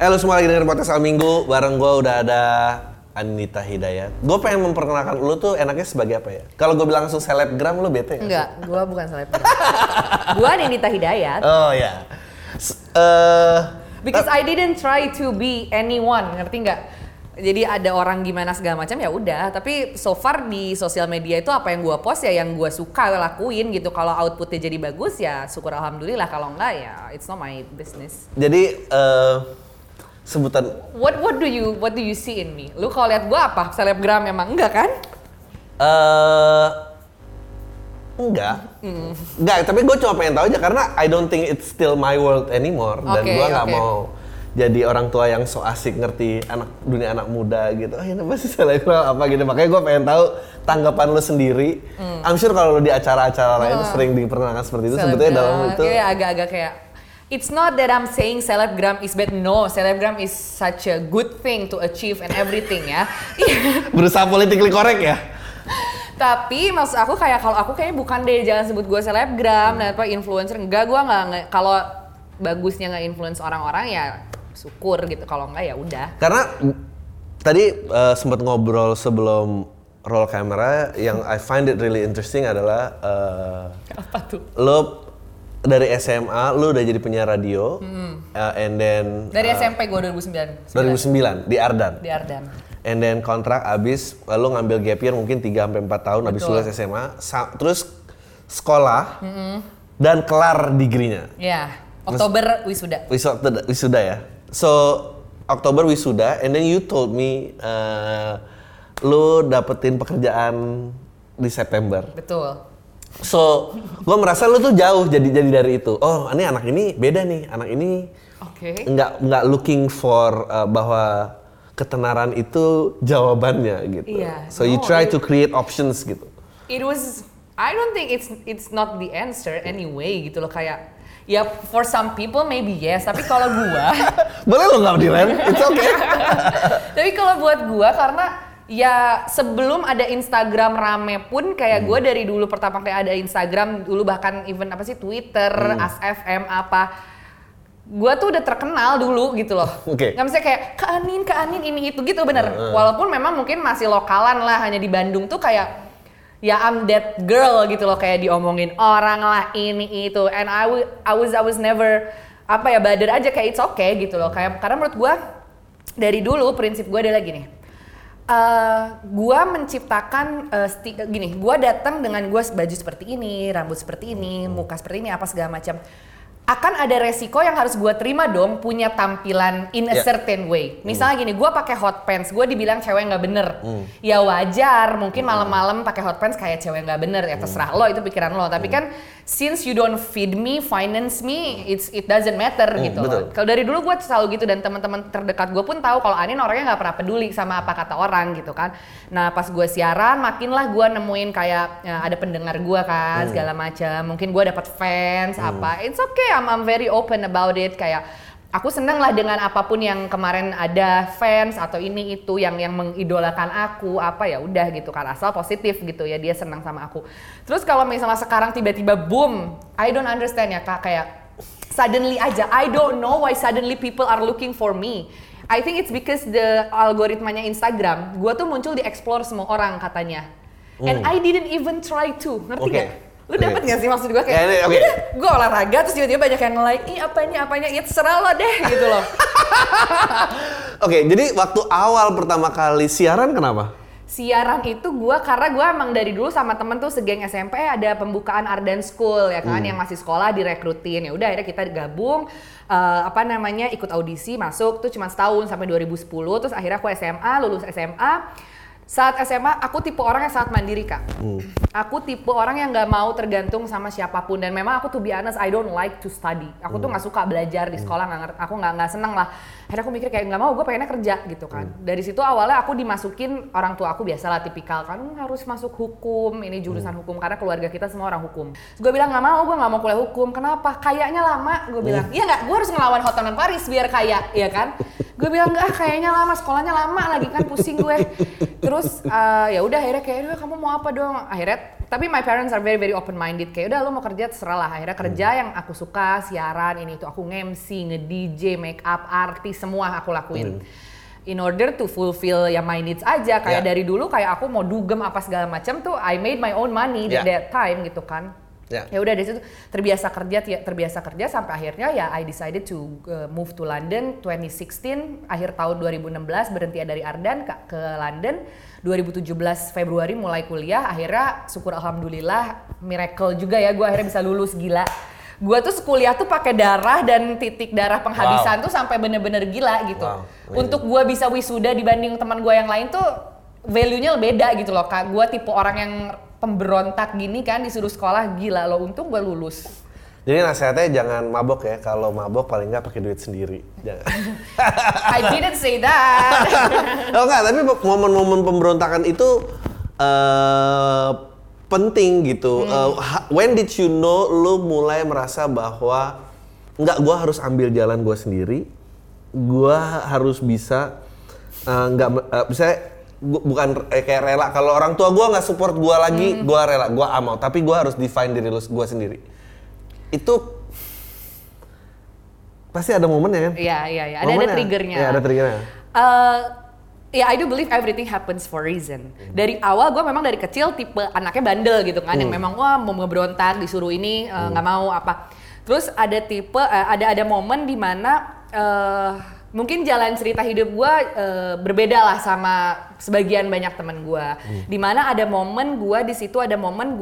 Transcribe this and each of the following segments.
Lu semua lagi dengerin podcast Al Minggu, bareng gue udah ada Anita Hidayat. Gue pengen memperkenalkan lu tuh enaknya sebagai apa ya? Kalau gue bilang langsung selebgram, lu bete ya? Enggak, gue bukan selebgram. Gue Anita Hidayat. Oh ya. Because I didn't try to be anyone, ngerti nggak? Jadi ada orang gimana segala macam ya udah. Tapi so far di sosial media itu apa yang gue post ya yang gue suka lakuin gitu. Kalau outputnya jadi bagus ya syukur alhamdulillah. Kalau enggak ya it's not my business. Jadi sebutan What do you see in me? Lu kalau lihat gue apa? Selebgram emang enggak kan? Enggak, tapi gue cuma pengen tahu aja karena I don't think it's still my world anymore dan gue nggak mau jadi orang tua yang so asik ngerti dunia anak muda gitu. Oh ini pasti selebgram apa gitu, makanya gue pengen tahu tanggapan lu sendiri. I'm sure kalau lu di acara-acara lain sering diperkenalkan seperti itu, sebetulnya dalam itu agak-agak kayak it's not that I'm saying selebgram is bad. No, selebgram is such a good thing to achieve and everything ya. Berusaha politically correct ya. Tapi maksud aku kayak kalau aku kayaknya bukan deh, jangan sebut gue selebgram dan apa influencer. Enggak, gue nggak kalau bagusnya nggak influence orang-orang ya syukur gitu. Kalau enggak ya udah. Karena tadi sempat ngobrol sebelum roll camera yang I find it really interesting adalah apa tuh? lo dari SMA lo udah jadi penyiar radio and then dari SMP gue 2009 di Ardan. Di Ardan. And then kontrak abis, lo ngambil gap year mungkin 3-4 tahun abis lulus SMA, terus sekolah dan kelar degree-nya. Iya, Oktober wisuda. Wisuda ya. So, Oktober wisuda and then you told me lo dapetin pekerjaan di September. Betul. So, gue merasa lo tuh jauh jadi dari itu. Oh, ini anak ini beda nih. Anak ini nggak looking for bahwa ketenaran itu jawabannya gitu. Iya, so you try to create options gitu. It was, I don't think it's not the answer anyway gitu loh, kayak ya for some people maybe yes, tapi kalau gua boleh lo nggak direm, it's okay. Tapi kalau buat gua karena ya sebelum ada Instagram rame pun kayak gua dari dulu pertama kali ada Instagram dulu bahkan even apa sih Twitter, ASFM apa. Gue tuh udah terkenal dulu gitu loh. Nggak bisa kayak Kak Anin ini itu gitu bener. Walaupun memang mungkin masih lokalan lah, hanya di Bandung tuh kayak ya I'm that girl gitu loh, kayak diomongin orang lah ini itu. And I was never apa ya bother aja, kayak it's okay gitu loh. Kayak karena menurut gue dari dulu prinsip gue adalah gini. Gue menciptakan gini, gue datang dengan gue baju seperti ini, rambut seperti ini, muka seperti ini, apa segala macam. Akan ada resiko yang harus gue terima dong punya tampilan in a certain way. Misalnya gini, gue pakai hot pants, gue dibilang cewek nggak bener. Ya wajar, mungkin malam-malam pakai hot pants kayak cewek nggak bener. Ya terserah lo, itu pikiran lo. Tapi kan since you don't feed me, finance me, it doesn't matter gitu. Kalau dari dulu gue selalu gitu dan teman-teman terdekat gue pun tahu kalau Anin orangnya nggak pernah peduli sama apa kata orang gitu kan. Nah pas gue siaran, makinlah gue nemuin kayak ada pendengar gue kan segala macam. Mungkin gue dapat fans apa, it's okay. I'm very open about it, kayak aku seneng lah dengan apapun yang kemarin ada fans atau ini itu yang mengidolakan aku apa ya udah gitu kan, asal positif gitu ya dia senang sama aku. Terus kalau misalnya sekarang tiba-tiba boom, I don't understand ya Kak, kayak suddenly aja I don't know why suddenly people are looking for me. I think it's because the algoritmanya Instagram, gue tuh muncul di explore semua orang katanya. And I didn't even try to, ngerti gak? Lu dapet gak sih maksud gue kayak udah gue olahraga terus tiba-tiba banyak yang nge-like, ih apanya ya terserah lo deh gitu loh. Oke, jadi waktu awal pertama kali siaran kenapa? Siaran itu karena gue emang dari dulu sama temen tuh segeng SMP ada pembukaan Ardan School ya kan, yang masih sekolah direkrutin. Ya udah akhirnya kita gabung ikut audisi masuk tuh cuma setahun sampai 2010. Terus akhirnya aku lulus SMA. Saat SMA aku tipe orang yang sangat mandiri Kak. Aku tipe orang yang nggak mau tergantung sama siapapun dan memang aku to be honest I don't like to study. Aku tuh nggak suka belajar di sekolah, aku nggak seneng lah. Akhirnya aku mikir kayak nggak mau, gue pengennya kerja gitu kan. Dari situ awalnya aku dimasukin orang tua aku biasalah tipikal kan harus masuk hukum, ini jurusan hukum karena keluarga kita semua orang hukum. Gue bilang nggak mau, gue nggak mau kuliah hukum. Kenapa? Kayaknya lama. Gue bilang iya nggak, gue harus ngelawan Hotman Paris biar kaya, ya kan? Gue bilang enggak, kayaknya lama, sekolahnya lama lagi kan, pusing gue. Terus ya udah akhirnya kayak kamu mau apa dong? Akhirnya tapi my parents are very very open minded, kayak udah lo mau kerja terserah lah. Akhirnya kerja yang aku suka, siaran ini itu, aku nge-MC, nge-DJ, make up, artis, semua aku lakuin. In order to fulfill ya my needs aja, kayak dari dulu kayak aku mau dugem apa segala macam tuh, I made my own money at that time gitu kan. Ya udah dari situ terbiasa kerja sampai akhirnya ya I decided to move to London 2016, akhir tahun 2016 berhenti dari Ardan ke London. 2017 Februari mulai kuliah, akhirnya syukur alhamdulillah miracle juga ya, gue akhirnya bisa lulus, gila. Gue tuh kuliah tuh pakai darah dan titik darah penghabisan tuh sampai bener-bener gila gitu. Untuk gue bisa wisuda dibanding teman gue yang lain tuh value-nya beda gitu loh Kak. Gue tipe orang yang pemberontak gini kan, disuruh sekolah, gila loh, untung gue lulus. Jadi nasihatnya jangan mabok ya, kalau mabok paling nggak pakai duit sendiri. Jangan. I didn't say that. Oh enggak, tapi momen-momen pemberontakan itu penting gitu. When did you know lu mulai merasa bahwa enggak, gue harus ambil jalan gue sendiri, gue harus bisa misalnya bukan kayak rela. Kalau orang tua gue nggak support gue lagi, gue rela, gue mau. Tapi gue harus define diri gue sendiri. Itu pasti ada momennya kan? Iya. Ada triggernya. Iya, ada triggernya. Ya, I do believe everything happens for reason. Dari awal gue memang dari kecil tipe anaknya bandel gitu kan, yang memang wah mau ngeberontak, disuruh ini nggak mau apa. Terus ada tipe ada momen di mana mungkin jalan cerita hidup gue berbeda lah sama sebagian banyak teman gue. Di mana ada momen gue di situ, ada momen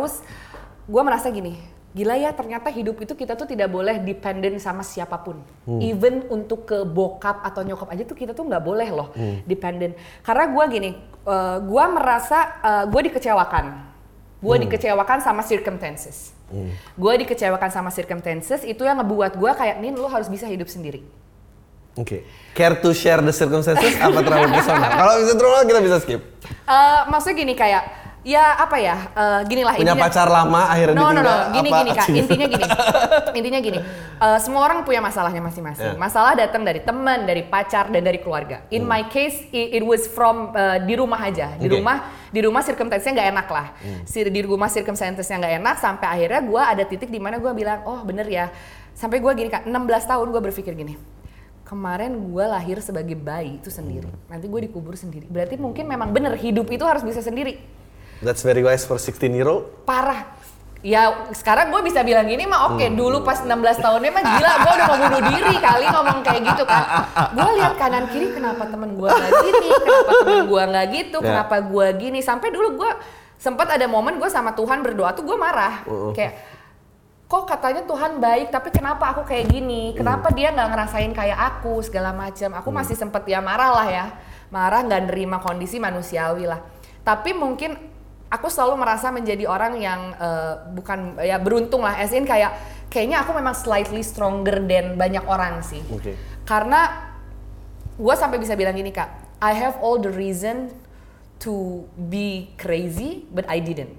gue merasa gini. Gila ya, ternyata hidup itu kita tuh tidak boleh dependent sama siapapun. Even untuk ke bokap atau nyokap aja tuh kita tuh nggak boleh loh dependent. Karena gue gini, gue merasa gue dikecewakan. Gue dikecewakan sama circumstances. Gue dikecewakan sama circumstances, itu yang ngebuat gue kayak, Nin, lu harus bisa hidup sendiri. Oke. Care to share the circumstances apa terlalu personal? Kalau bisa terlalu kita bisa skip. Maksudnya gini kayak, ya apa ya, gini lah punya pacar lama akhirnya ditinggal. Gini Kak, intinya gini, semua orang punya masalahnya masing-masing. Masalah datang dari teman, dari pacar, dan dari keluarga. In my case, it was from di rumah aja, di rumah circumstance-nya nggak enak lah. Di rumah circumstance-nya nggak enak, sampai akhirnya gue ada titik di mana gue bilang, oh bener ya, sampai gue gini Kak, 16 tahun gue berpikir gini. Kemarin gue lahir sebagai bayi itu sendiri, nanti gue dikubur sendiri. Berarti mungkin memang bener hidup itu harus bisa sendiri. That's very wise for 16-year-old. Parah. Ya sekarang gue bisa bilang gini mah oke, dulu pas 16 tahunnya mah gila, gue udah mau bunuh diri kali ngomong kayak gitu kan. Gue lihat kanan kiri, kenapa temen gue nggak gini, kenapa temen gue nggak gitu, kenapa gue gini. Sampai dulu gue sempat ada momen gue sama Tuhan berdoa tuh gue marah. Kayak, kok katanya Tuhan baik, tapi kenapa aku kayak gini? Kenapa dia nggak ngerasain kayak aku segala macam? Aku masih sempet ya marah lah ya, marah nggak nerima kondisi manusiawi lah. Tapi mungkin aku selalu merasa menjadi orang yang bukan ya beruntung lah, as in kayaknya aku memang slightly stronger than banyak orang sih. Karena gue sampai bisa bilang gini Kak, I have all the reason to be crazy, but I didn't.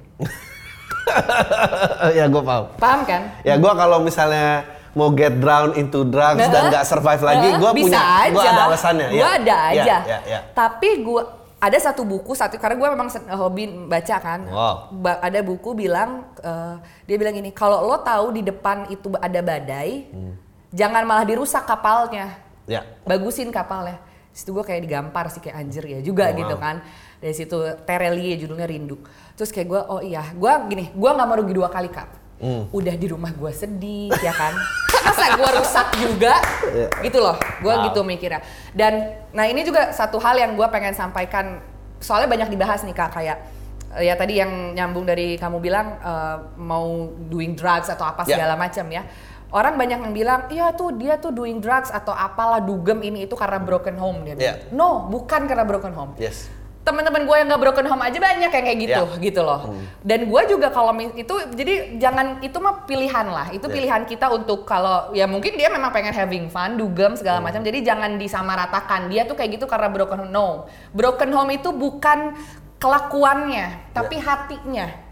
Ya gue paham. Paham kan? Ya gue kalau misalnya mau get drown into drugs dan nggak survive lagi, gue ada alasannya. Gue ada aja. Ya. Tapi gue ada satu buku, karena gue memang hobi baca kan. Ada buku bilang, dia bilang gini, kalau lo tahu di depan itu ada badai, jangan malah dirusak kapalnya. Bagusin kapalnya. Situ gue kayak digampar sih, kayak anjir ya juga gitu kan. Dari situ Terelie judulnya Rindu. Terus kayak gue, oh iya, gue gak mau rugi 2 kali Kak. Udah di rumah gue sedih ya kan, masa gue rusak juga gitu loh, gue gitu mikirnya. Dan nah ini juga satu hal yang gue pengen sampaikan, soalnya banyak dibahas nih Kak, kayak ya tadi yang nyambung dari kamu bilang mau doing drugs atau apa segala macam ya. Orang banyak yang bilang, iya tuh dia tuh doing drugs atau apalah, dugem ini itu karena broken home dia bilang. No, bukan karena broken home. Teman-teman gue yang gak broken home aja banyak yang kayak gitu, gitu loh. Dan gue juga kalau itu, jadi jangan, itu mah pilihan lah. Itu pilihan kita untuk kalau, ya mungkin dia memang pengen having fun, dugem segala macam. Jadi jangan disamaratakan, dia tuh kayak gitu karena broken home. No, broken home itu bukan kelakuannya, tapi hatinya.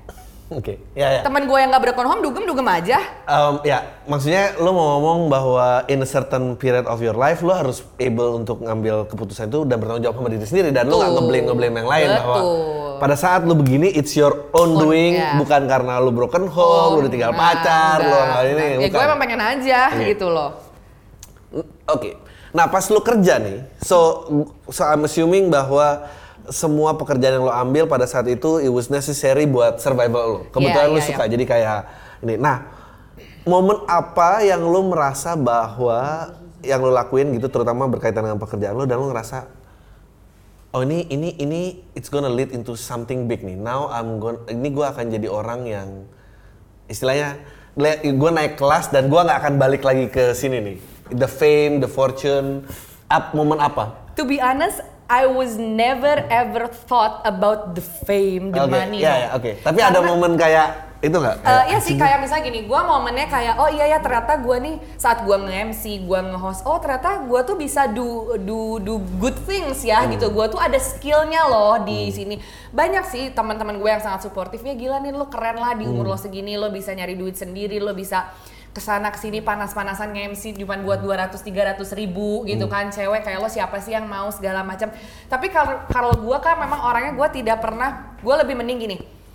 Oke, ya. Temen gue yang nggak broken home dugem aja. Ya, maksudnya lo mau ngomong bahwa in a certain period of your life lo harus able untuk ngambil keputusan itu dan bertanggung jawab sama diri sendiri dan lo nggak ngeblame yang lain bahwa pada saat lo begini it's your own doing, bukan karena lo broken home, lo ditinggal pacar, lo nggak ini. Ya gue emang pengen aja gitu loh. Oke. Nah pas lo kerja nih, so I'm assuming bahwa semua pekerjaan yang lo ambil pada saat itu it was necessary buat survival lo. Kebetulan lo suka jadi kayak ini. Nah, momen apa yang lo merasa bahwa yang lo lakuin gitu terutama berkaitan dengan pekerjaan lo dan lo ngerasa oh ini it's gonna lead into something big nih. Now ini gue akan jadi orang yang istilahnya gue naik kelas dan gue nggak akan balik lagi ke sini nih. The fame, the fortune, momen apa? To be honest, I was never ever thought about the fame, the money. Oke. Tapi karena, ada momen kayak itu nggak? Iya sih, kayak misalnya gini, gue momennya kayak oh iya ya ternyata gue nih saat gue nge-MC, gue nge-host, oh ternyata gue tuh bisa do good things ya gitu. Gue tuh ada skillnya loh di sini. Banyak sih teman-teman gue yang sangat suportifnya, gila nih lo keren lah di umur lo segini, lo bisa nyari duit sendiri, lo bisa kesana kesini panas-panasan nge-MC cuma buat 200-300 ribu gitu kan, cewek kayak lo siapa sih yang mau segala macam. Tapi kalau gue kan memang orangnya gue tidak pernah, gue lebih mending gini,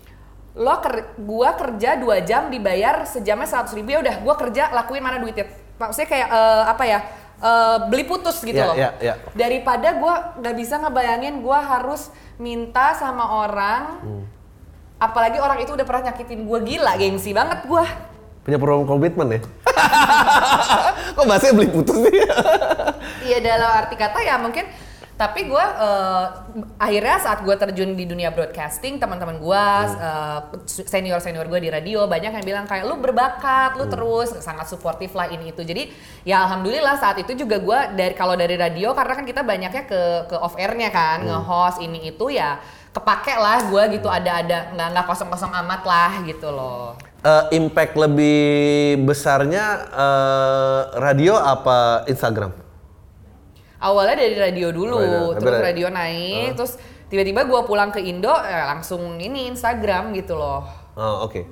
gue kerja 2 jam dibayar sejamnya 100 ribu, ya udah gue kerja lakuin mana duitnya, maksudnya kayak beli putus gitu loh. Daripada gue nggak bisa ngebayangin gue harus minta sama orang, apalagi orang itu udah pernah nyakitin gue, gila gengsi banget gue. Punya program komitmen ya? Kok bahasanya beli putus sih? Iya dalam arti kata ya mungkin. Tapi gue akhirnya saat gue terjun di dunia broadcasting, teman-teman gue, senior gue di radio banyak yang bilang kayak lu berbakat, lu terus sangat suportif lah ini itu. Jadi ya alhamdulillah saat itu juga gue kalau dari radio karena kan kita banyaknya ke off airnya kan, nge-host ini itu ya kepake lah gue gitu, ada nggak kosong-kosong amat lah gitu loh. Impact lebih besarnya radio apa Instagram? Awalnya dari radio dulu, terus radio naik, terus tiba-tiba gue pulang ke Indo langsung ini Instagram gitu loh. Oh oke.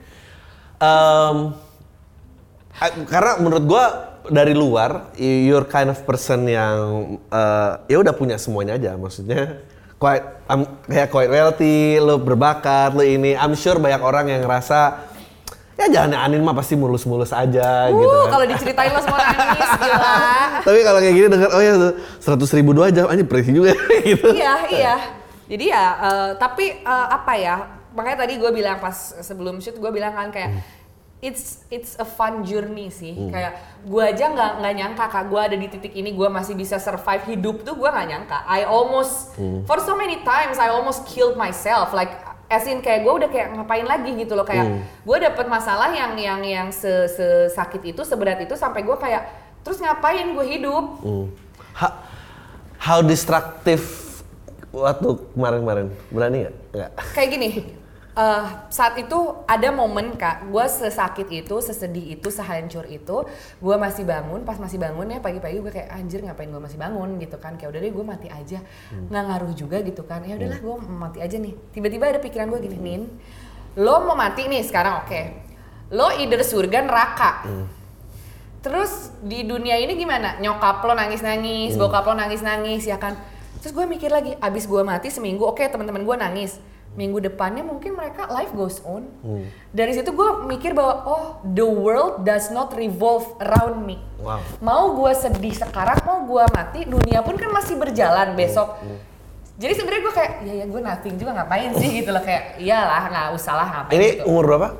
Karena menurut gue dari luar, you're kind of person yang ya udah punya semuanya aja, maksudnya kayak quite wealthy, lo berbakat, lo ini. I'm sure banyak orang yang ngerasa ya jangan Anin mah pasti mulus-mulus aja gitu kan. Kalau diceritain lo semua nangis, gila. Tapi kalau kayak gini denger, oh ya 100 ribu 2 jam, anjir presi juga gitu. Iya. Jadi ya, tapi apa ya, makanya tadi gue bilang pas sebelum shoot, gue bilang kan kayak, it's a fun journey sih. Kayak gue aja nggak nyangka kak, gue ada di titik ini, gue masih bisa survive hidup tuh gue nggak nyangka. I almost, for so many times, I almost killed myself. Like, as in kayak gue udah kayak ngapain lagi gitu loh, kayak gue dapet masalah yang sesakit itu, seberat itu sampai gue kayak terus ngapain gue hidup? How destructive waktu kemarin berani nggak? Kayak gini, saat itu ada momen kak, gue sesakit itu, sesedih itu, sehancur itu, gue masih bangun, pas masih bangun ya pagi-pagi gue kayak anjir ngapain gue masih bangun gitu kan, kayak udah deh gue mati aja, nggak ngaruh juga gitu kan, ya udahlah gue mati aja nih. Tiba-tiba ada pikiran gue gini, Nin, lo mau mati nih sekarang, oke, lo either surga neraka, terus di dunia ini gimana, nyokap lo nangis-nangis, bokap lo nangis-nangis ya kan, terus gue mikir lagi, abis gue mati seminggu, oke teman-teman gue nangis, minggu depannya mungkin mereka life goes on. Dari situ gue mikir bahwa oh the world does not revolve around me. Wow. Mau gue sedih sekarang, mau gue mati, dunia pun kan masih berjalan besok. Jadi sebenarnya gue kayak ya gue nothing juga, ngapain sih gitu loh, kayak iyalah nggak usah lah ngapain. Ini gitu. Umur berapa?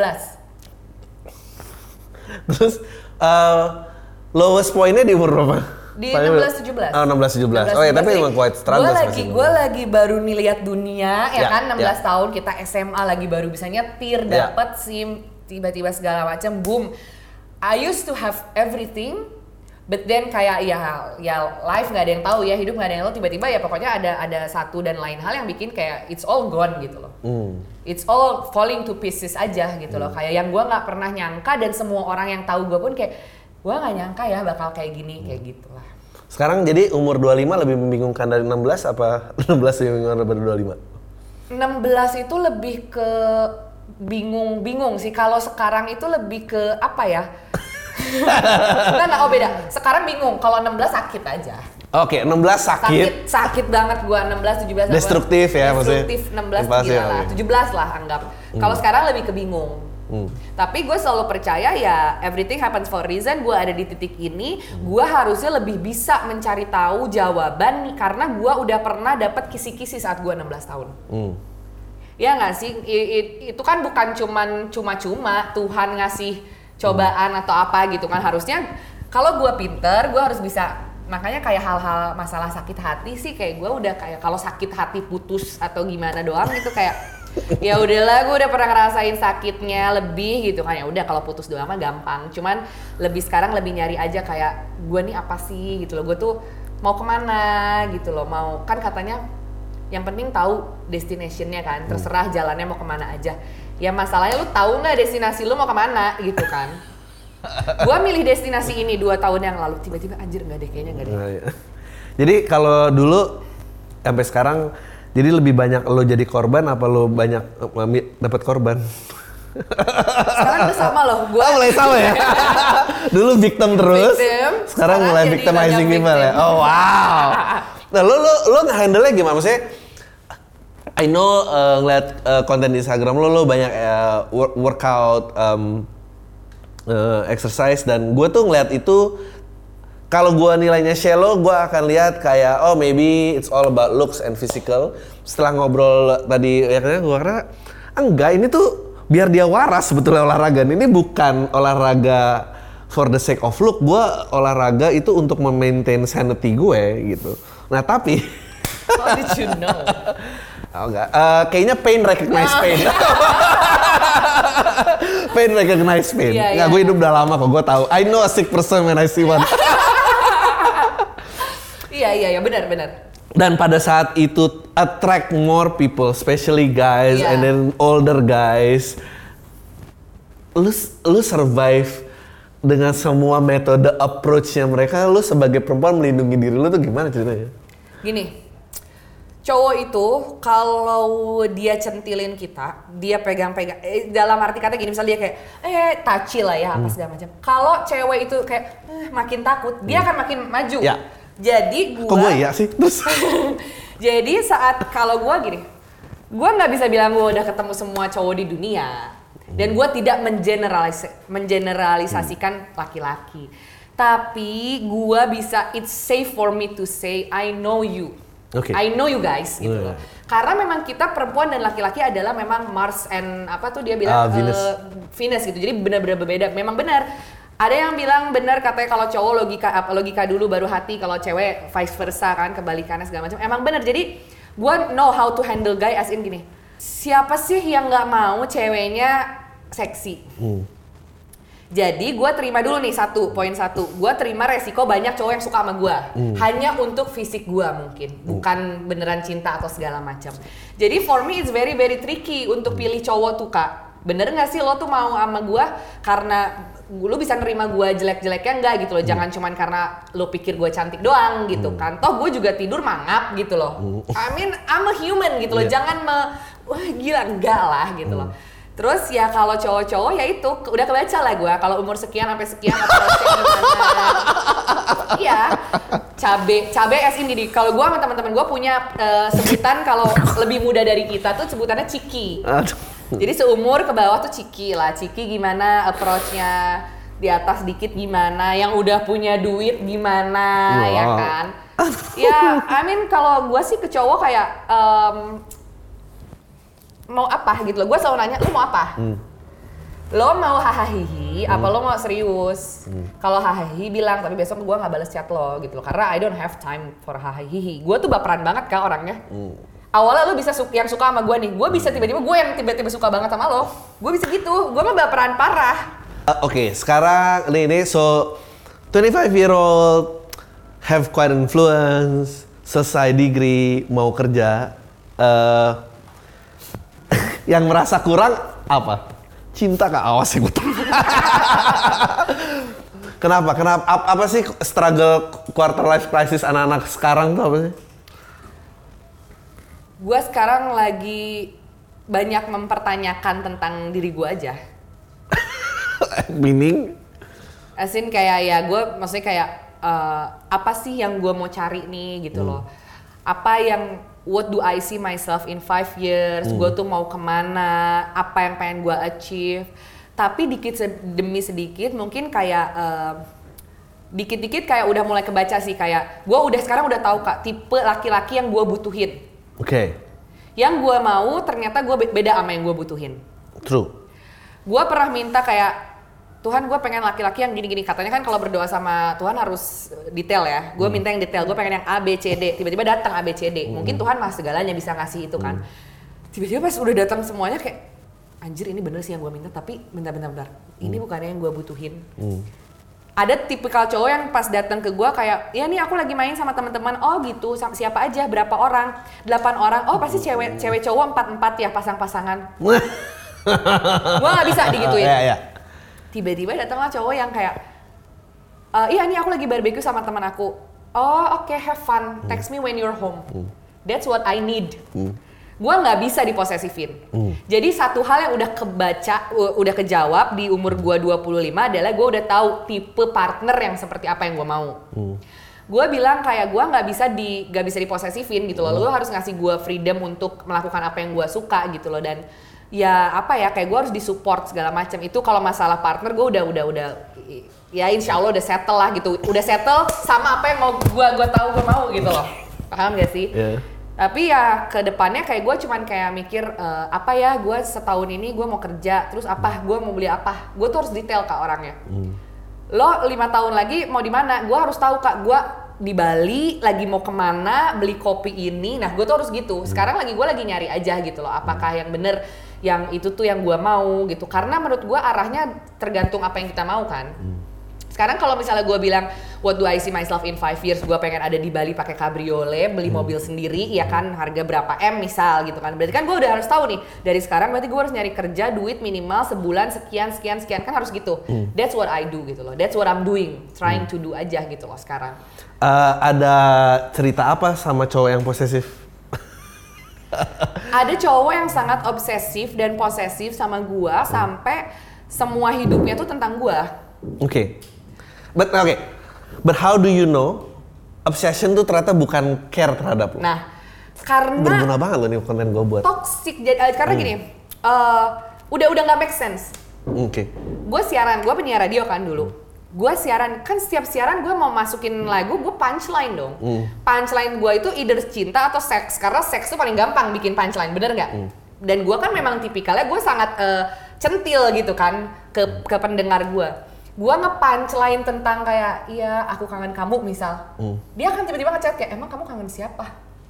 16. Terus lowest pointnya di umur berapa? Di 16-17. Oh 16-17. Oh ya tapi emang quite struggle. Gue lagi baru nih lihat dunia ya kan, 16 tahun kita SMA lagi baru bisa nyetir, dapat SIM, tiba-tiba segala macam boom. I used to have everything, but then kayak ya life nggak ada yang tahu ya, hidup nggak ada yang tahu, tiba-tiba ya pokoknya ada satu dan lain hal yang bikin kayak it's all gone gitu loh. It's all falling to pieces aja gitu loh. Kayak yang gue nggak pernah nyangka dan semua orang yang tahu gue pun kayak gue gak nyangka ya bakal kayak gini, kayak gitu lah. Sekarang jadi umur 25 lebih membingungkan dari 16 apa 16 lebih membingungkan dari 25? 16 itu lebih ke bingung sih. Kalau sekarang itu lebih ke apa ya? Enggak, oh beda. Sekarang bingung, kalau 16 sakit aja. Oke, 16 sakit. Sakit banget gua 16, 17. Destruktif ya maksudnya. Destruktif 16 gila lah, 17 lah anggap. Kalau sekarang lebih ke bingung. Tapi gue selalu percaya ya everything happens for a reason. Gue ada di titik ini, gue harusnya lebih bisa mencari tahu jawaban nih, karena gue udah pernah dapat kisi-kisi saat gue 16 tahun. Ya nggak sih, itu kan bukan cuma-cuma Tuhan ngasih cobaan atau apa gitu kan. Harusnya kalau gue pinter, gue harus bisa. Makanya kayak hal-hal masalah sakit hati sih, kayak gue udah kayak kalau sakit hati putus atau gimana doang itu kayak ya udahlah, gue udah pernah ngerasain sakitnya lebih gitu kan. Ya udah kalau putus doang mah gampang, cuman sekarang lebih nyari aja kayak gue nih apa sih gitu loh, gue tuh mau kemana gitu loh, mau kan katanya yang penting tahu destinationnya kan, terserah jalannya mau kemana aja. Ya masalahnya lu tahu nggak destinasi lu mau kemana gitu kan. Gue milih destinasi ini 2 tahun yang lalu, tiba-tiba anjir nggak deh, kayaknya nggak deh. Nah, ya. Jadi kalau dulu sampai sekarang, jadi lebih banyak lo jadi korban apa lo banyak dapat korban? Sekarang udah sama loh, gue mulai sama ya. Dulu victim terus, sekarang mulai victimizing people ya. Oh wow. Nah lo nge-handle-nya gimana? Maksudnya, I know ngeliat konten di Instagram lo banyak workout, exercise, dan gue tuh ngeliat itu. Kalau gue nilainya shallow, gue akan lihat kayak maybe it's all about looks and physical. Setelah ngobrol tadi ya gue kira enggak, ini tuh biar dia waras sebetulnya olahraga. Ini bukan olahraga for the sake of look. Gue olahraga itu untuk memaintain sanity gue gitu. Nah tapi how did you know? Oh enggak, kayaknya pain recognize pain. Pain recognize pain. Nggak, gue hidup udah lama kok, gue tahu. I know a sick person when I see one. Iya, benar. Dan pada saat itu attract more people, especially guys and then older guys. Lu survive dengan semua metode approach-nya mereka. Lu sebagai perempuan melindungi diri lu tuh gimana ceritanya? Gini, cowok itu kalau dia centilin kita, dia pegang-pegang, dalam arti kata gini, misalnya dia kayak touchy lah ya apa segala macam. Kalau cewek itu kayak makin takut, dia akan makin maju. Ya. Jadi kok gue iya sih? Terus jadi saat kalau gue gini, gue nggak bisa bilang gue udah ketemu semua cowok di dunia, dan gue tidak mengeneralisasikan laki-laki. Tapi gue bisa, it's safe for me to say I know you. Okay. I know you guys gitu loh. Karena memang kita perempuan dan laki-laki adalah memang Mars and apa tuh dia bilang Venus gitu. Jadi benar-benar berbeda. Memang benar. Ada yang bilang benar katanya kalau cowok logika dulu baru hati, kalau cewek vice versa kan, kebalikannya segala macam. Emang benar. Jadi gue know how to handle guy as in gini. Siapa sih yang nggak mau ceweknya seksi? Jadi gue terima dulu nih poin satu. Gue terima resiko banyak cowok yang suka sama gue. Hanya untuk fisik gue mungkin. Bukan beneran cinta atau segala macam. Jadi for me it's very very tricky untuk pilih cowok tuh Kak. Bener gak sih lo tuh mau sama gue karena lo bisa nerima gue jelek-jeleknya enggak gitu loh. Jangan cuman karena lo pikir gue cantik doang gitu kan. Toh gue juga tidur mangap gitu loh. I mean I'm a human gitu loh. Jangan wah gila enggak lah gitu loh. Terus ya kalau cowok-cowok ya itu udah kebaca lah gue kalau umur sekian sampai sekian approach-nya gimana. Iya. Cabe as in gini. Kalau gue sama teman-teman gue punya sebutan kalau lebih muda dari kita tuh sebutannya ciki. Jadi seumur ke bawah tuh ciki lah. Ciki gimana approach-nya, di atas dikit gimana, yang udah punya duit gimana, ya kan? Ya, I mean kalau gue sih ke cowok kayak mau apa gitu loh. Gue selalu nanya, lu mau apa? Lo mau hahaha apa lo mau serius? Kalau hahaha bilang, tapi besok gue nggak balas chat lo gitu loh. Karena I don't have time for hahaha. Gue tuh baperan banget Kak orangnya. Awalnya lo bisa yang suka sama gue nih, gue bisa tiba-tiba gue yang tiba-tiba suka banget sama lo. Gue bisa gitu, gue mah baperan parah. Oke, sekarang ini so 25-year-old have quite influence, selesai degree, mau kerja. Yang merasa kurang apa? Cinta Kak, awas ya gue. Kenapa? Apa sih struggle quarter life crisis anak-anak sekarang tuh apa sih? Gue sekarang lagi banyak mempertanyakan tentang diri gue aja. Meaning? As in kayak ya gue maksudnya kayak apa sih yang gue mau cari nih gitu loh. Apa yang what do I see myself in 5 years? Gue tuh mau kemana? Apa yang pengen gue achieve? Tapi demi sedikit mungkin kayak dikit-dikit kayak udah mulai kebaca sih kayak gue sekarang udah tahu Kak tipe laki-laki yang gue butuhin. Oke. Yang gue mau ternyata gue beda sama yang gue butuhin. True. Gue pernah minta kayak Tuhan gue pengen laki-laki yang gini-gini, katanya kan kalau berdoa sama Tuhan harus detail ya. Gue minta yang detail, gue pengen yang A, B, C, D. Tiba-tiba datang A, B, C, D. Mungkin Tuhan mah segalanya bisa ngasih itu kan. Tiba-tiba pas udah datang semuanya kayak, anjir ini bener sih yang gue minta, tapi bentar. Ini bukannya yang gue butuhin. Ada tipikal cowok yang pas datang ke gue kayak, ya nih aku lagi main sama teman-teman. Oh gitu, siapa aja, berapa orang? 8 orang. Oh pasti cewek cowok 4-4 ya pasang-pasangan. Gue gak bisa digituin. Tiba-tiba datanglah cowok yang kayak, iya nih aku lagi barbecue sama teman aku. Oh oke, have fun, text me when you're home. That's what I need. Gue nggak bisa diposesifin. Jadi satu hal yang udah kejawab di umur gue 25 adalah gue udah tahu tipe partner yang seperti apa yang gue mau. Gue bilang kayak gue nggak bisa diposesifin gitu loh. Lo harus ngasih gue freedom untuk melakukan apa yang gue suka gitu loh. Dan ya apa ya kayak gue harus disupport segala macam. Itu kalau masalah partner gue udah ya insya Allah udah settle lah gitu. Udah settle sama apa yang mau gue tahu gue mau gitu loh. Paham gak sih? Yeah. Tapi ya ke depannya kayak gue cuman kayak mikir apa ya gue setahun ini gue mau kerja terus apa gue mau beli apa. Gue tuh harus detail Kak orangnya. Lo 5 tahun lagi mau di mana? Gue harus tahu Kak gue di Bali lagi mau kemana beli kopi ini. Nah gue tuh harus gitu. Sekarang gue lagi nyari aja gitu loh. Apakah yang bener yang itu tuh yang gue mau gitu. Karena menurut gue arahnya tergantung apa yang kita mau kan. Sekarang kalau misalnya gue bilang what do I see myself in 5 years, gue pengen ada di Bali pakai cabriolet, beli mobil sendiri, ya kan harga berapa M misal gitu kan. Berarti kan gue udah harus tahu nih dari sekarang berarti gue harus nyari kerja duit minimal sebulan sekian kan harus gitu. That's what I do gitu loh. That's what I'm doing, trying to do aja gitu loh sekarang. Ada cerita apa sama cowok yang posesif? Ada cowok yang sangat obsesif dan posesif sama gue sampai semua hidupnya tuh tentang gue. Oke. But how do you know obsession tuh ternyata bukan care terhadap lo? Nah, karena berguna banget lo nih konten gue buat. Toxic karena gini, udah nggak make sense. Oke. Gue siaran, gue penyiar radio kan dulu. Gue siaran, kan setiap siaran gue mau masukin lagu, gue punchline dong. Punchline gue itu either cinta atau seks, karena seks tuh paling gampang bikin punchline, bener nggak? Dan gue kan memang tipikalnya gue sangat centil gitu kan ke pendengar gue. Gue nge-punchline tentang kayak, iya aku kangen kamu misal. Dia akan tiba-tiba ngechat kayak, emang kamu kangen siapa?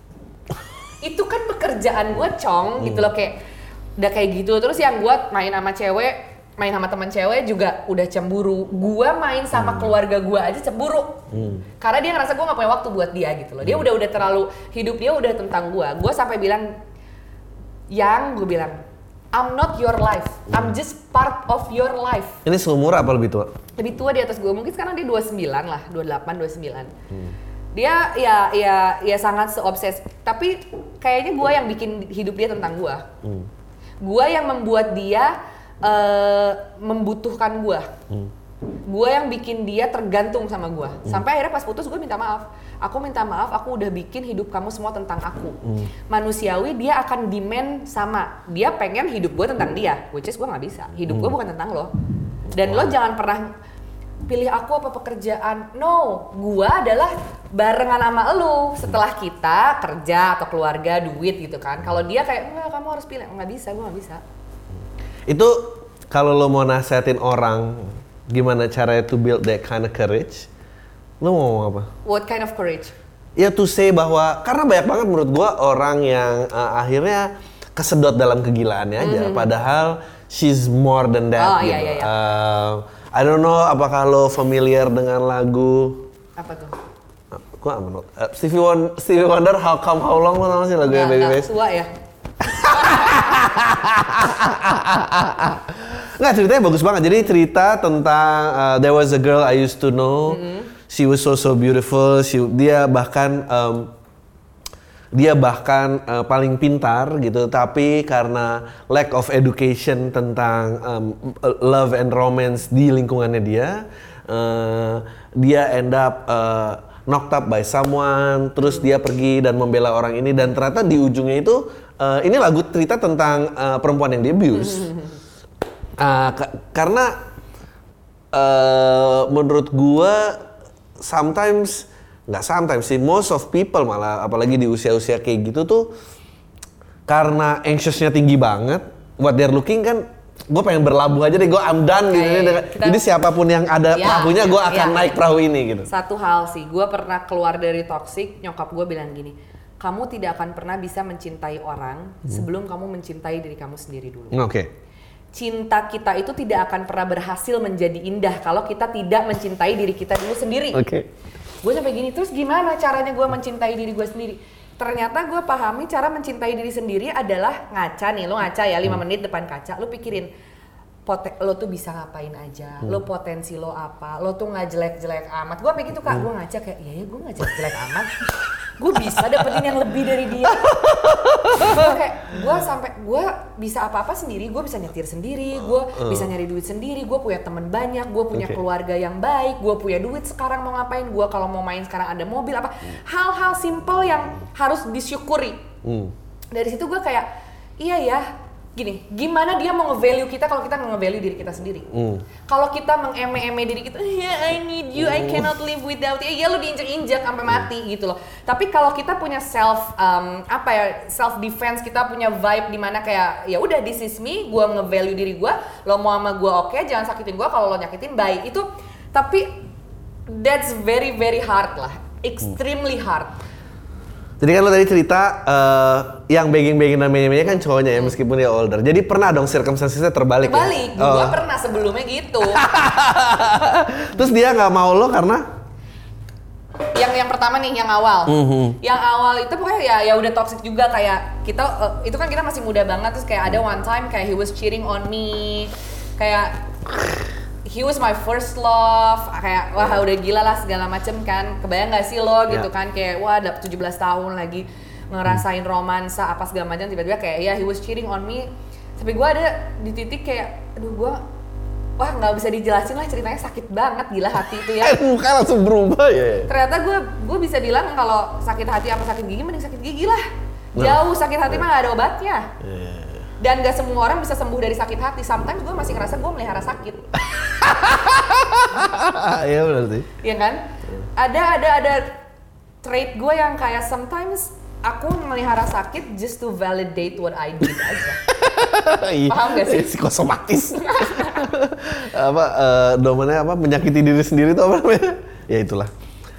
Itu kan pekerjaan gue Cong gitu loh kayak, udah kayak gitu. Terus yang gue main sama teman cewek juga udah cemburu. Gue main sama keluarga gue aja cemburu. Karena dia ngerasa gue gak punya waktu buat dia gitu loh. Dia udah terlalu, hidup dia udah tentang gue. Gue sampai bilang, gue bilang, I'm not your life, I'm just part of your life. Ini seumur apa lebih tua? Lebih tua di atas gue, mungkin sekarang dia 29 lah, 28, 29. Dia ya sangat seobses, tapi kayaknya gue yang bikin hidup dia tentang gue. Gue yang membuat dia membutuhkan gue. Gue yang bikin dia tergantung sama gue. Sampai akhirnya pas putus gue minta maaf. Aku minta maaf, aku udah bikin hidup kamu semua tentang aku. Manusiawi dia akan demand sama. Dia pengen hidup gue tentang dia, which is gue gak bisa. Hidup gue bukan tentang lo. Dan lo jangan pernah pilih aku apa pekerjaan. No, gue adalah barengan sama lo. Setelah kita kerja atau keluarga, duit gitu kan. Kalau dia kayak, enggak kamu harus pilih. Gak bisa, gue gak bisa. Itu kalau lo mau nasihatin orang, gimana caranya to build that kind of courage? Lo mau ngomong apa? What kind of courage? Ya to say bahwa, karena banyak banget menurut gua orang yang akhirnya kesedot dalam kegilaannya aja. Padahal she's more than that gitu. Iya. I don't know apakah lo familiar dengan lagu apa tuh? Gua menurut Stevie Wonder, How Come How Long, lo tau sih lagunya Babyface? Tua ya? Nggak, ceritanya bagus banget. Jadi cerita tentang there was a girl I used to know. She was so beautiful. Dia bahkan dia bahkan paling pintar gitu, tapi karena lack of education tentang love and romance di lingkungannya dia end up knocked up by someone, terus dia pergi dan membela orang ini, dan ternyata di ujungnya itu ini lagu cerita tentang perempuan yang di abuse. Karena menurut gua nggak sometimes sih, most of people malah, apalagi di usia-usia kayak gitu tuh, karena anxiousnya tinggi banget, what they're looking kan, gue pengen berlabuh aja deh, gue I'm done gitu. Jadi siapapun yang ada perahunya, gue akan naik perahu ini gitu. Satu hal sih, gue pernah keluar dari toxic, nyokap gue bilang gini, kamu tidak akan pernah bisa mencintai orang sebelum kamu mencintai diri kamu sendiri dulu. Oke. Cinta kita itu tidak akan pernah berhasil menjadi indah kalau kita tidak mencintai diri kita dulu sendiri. Oke. Gue sampai gini, terus gimana caranya gue mencintai diri gue sendiri? Ternyata gue pahami cara mencintai diri sendiri adalah ngaca nih, lo ngaca ya 5 menit depan kaca, lo pikirin lo tuh bisa ngapain aja, lo potensi lo apa, lo tuh nggak jelek-jelek amat. Gue kayak gitu kak, gue ngaca kayak iya ya gue nggak jelek-jelek amat, gue bisa dapetin yang lebih dari dia. Gue bisa apa-apa sendiri, gue bisa nyetir sendiri, gue bisa nyari duit sendiri, gue punya teman banyak, gue punya keluarga yang baik, gue punya duit sekarang mau ngapain, gue kalau mau main sekarang ada mobil apa, hal-hal simple yang harus disyukuri. Dari situ gue kayak iya ya. Gini, gimana dia mau nge-value kita kalau kita nge-value diri kita sendiri? Kalau kita meng-eme-eme diri kita, I need you, I cannot live without you. Ya lu diinjek-injek sampai mati gitu loh. Tapi kalau kita punya self defense, kita punya vibe di mana kayak ya udah this is me, gua nge-value diri gua, lo mau sama gua oke, jangan sakitin gua, kalau lo nyakitin baik. Itu tapi that's very very hard lah, extremely hard. Jadi kan lo tadi cerita yang begging-begging dan menye-menye kan cowoknya ya, meskipun dia older. Jadi pernah dong circumstances-nya terbalik ya? Gue pernah sebelumnya gitu. Terus dia nggak mau lo karena? Yang pertama nih, yang awal. Yang awal itu pokoknya ya udah toxic juga, kayak kita itu kan kita masih muda banget, terus kayak ada one time kayak he was cheating on me, kayak he was my first love, kayak wah udah gila lah segala macem kan. Kebayang gak sih lo gitu kan, kayak wah udah 17 tahun lagi ngerasain romansa apa segala macam, tiba-tiba kayak ya he was cheating on me. Tapi gue ada di titik kayak aduh gue wah nggak bisa dijelasin lah, ceritanya sakit banget gila hati itu ya. Muka langsung berubah ya. Ternyata gue bisa bilang kalau sakit hati apa sakit gigi, mending sakit gigi lah. Jauh sakit hati mah gak ada obatnya. Dan gak semua orang bisa sembuh dari sakit hati. Sometimes gue masih ngerasa gue melihara sakit. Iya benar sih. Iya kan? Ada trait gue yang kayak sometimes aku melihara sakit just to validate what I did aja. Paham gak sih? Psikosomatis. Domennya menyakiti diri sendiri itu apa namanya? Ya itulah.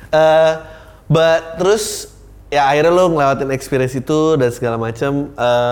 But terus ya akhirnya lo ngelewatin experience itu dan segala macam.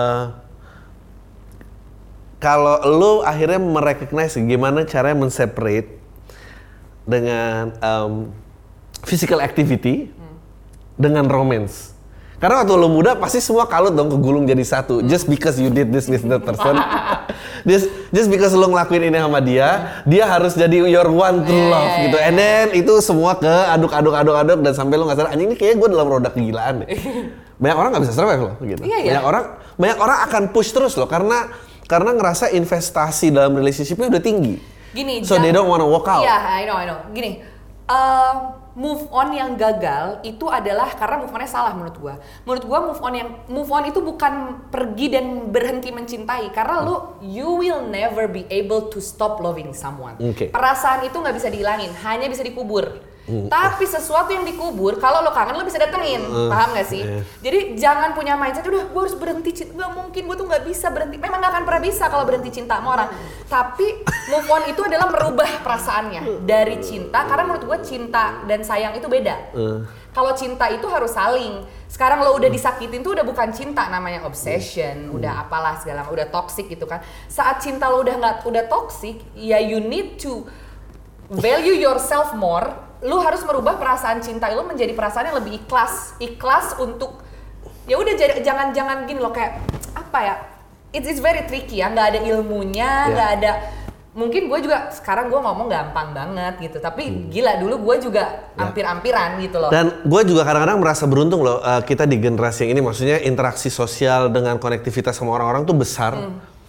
Kalau lo akhirnya merecognize gimana caranya men-separate dengan physical activity dengan romance. Karena waktu lo muda pasti semua kalut dong, kegulung jadi satu. Just because you did this with that person. just because lo ngelakuin ini sama dia harus jadi your one true love gitu. And then itu semua ke aduk dan sampai lo nggak sadar, anjing ini kayaknya gue dalam roda kegilaan deh. Banyak orang nggak bisa survive loh gitu. Banyak orang akan push terus loh karena ngerasa investasi dalam relationship-nya udah tinggi. Gini, so they don't wanna walk out. Iya, I know. Gini, move on yang gagal itu adalah karena move on-nya salah menurut gua. Menurut gua move on itu bukan pergi dan berhenti mencintai, karena you will never be able to stop loving someone. Perasaan itu nggak bisa dihilangin, hanya bisa dikubur. Tapi sesuatu yang dikubur, kalau lo kangen lo bisa datengin, paham gak sih? Jadi jangan punya mindset, udah gue harus berhenti cinta, gak mungkin, gue tuh gak bisa berhenti. Memang gak akan pernah bisa kalau berhenti cinta sama orang. Tapi move on itu adalah merubah perasaannya dari cinta, karena menurut gue cinta dan sayang itu beda. Kalau cinta itu harus saling. Sekarang lo udah disakitin tuh udah bukan cinta, namanya obsession, udah apalah segala, udah toxic gitu kan. Saat cinta lo udah toxic, ya you need to value yourself more. Lu harus merubah perasaan cinta lu menjadi perasaan yang lebih ikhlas untuk ya udah, jangan gini loh, kayak apa ya, it's very tricky ya, nggak ada ilmunya, nggak ada mungkin gue juga sekarang gue ngomong gampang banget gitu, tapi gila dulu gue juga hampir-hampiran gitu loh. Dan gue juga kadang-kadang merasa beruntung loh, kita di generasi yang ini, maksudnya interaksi sosial dengan konektivitas sama orang-orang tuh besar.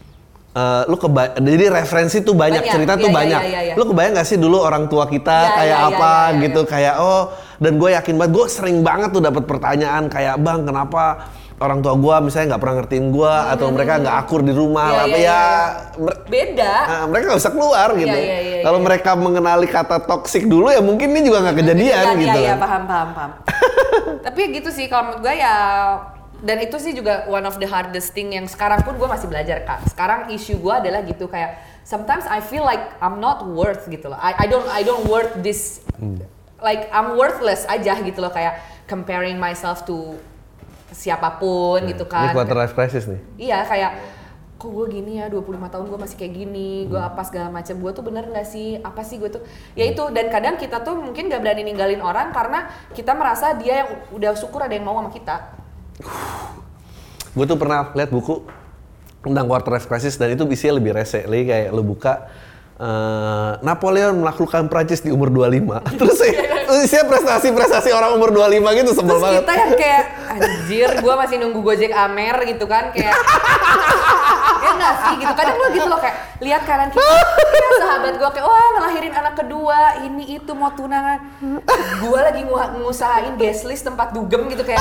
Jadi referensi tuh banyak cerita tuh banyak. Lu kebayang gak sih dulu orang tua kita gitu. Kayak dan gue yakin banget, gue sering banget tuh dapat pertanyaan kayak, bang kenapa orang tua gue misalnya nggak pernah ngertiin gue atau mereka nggak akur di rumah, beda. Mereka nggak bisa keluar gitu. Kalau mereka mengenali kata toksik dulu ya mungkin ini juga nggak kejadian gitu. Iya paham. Tapi gitu sih kalau menurut gue ya. Dan itu sih juga one of the hardest thing yang sekarang pun gue masih belajar Kak. Sekarang issue gue adalah gitu kayak sometimes I feel like I'm not worth gitu loh. I don't worth this. Like I'm worthless aja gitu loh, kayak comparing myself to siapapun gitu kan. Ini quarter life crisis nih. Iya kayak kok gue gini ya, 25 tahun gue masih kayak gini, gue apa segala macam, gue tuh bener gak sih, apa sih gue tuh, ya itu. Dan kadang kita tuh mungkin gak berani ninggalin orang karena kita merasa dia yang udah syukur ada yang mau sama kita. Gue tuh pernah lihat buku tentang quarter life crisis dan itu isinya lebih rese, lagi kayak lu buka Napoleon menaklukkan Prancis di umur 25. Terus isinya prestasi orang umur 25 gitu, sebel banget. Terus kita yang kayak anjir, gue masih nunggu Gojek Amer gitu kan, kayak ya nggak sih gitu. Kadang gue gitu loh kayak lihat kanan kita, ya sahabat gue kayak wah ngelahirin anak kedua, ini itu mau tunangan, gue lagi ngusahain guest list tempat dugem gitu kayak.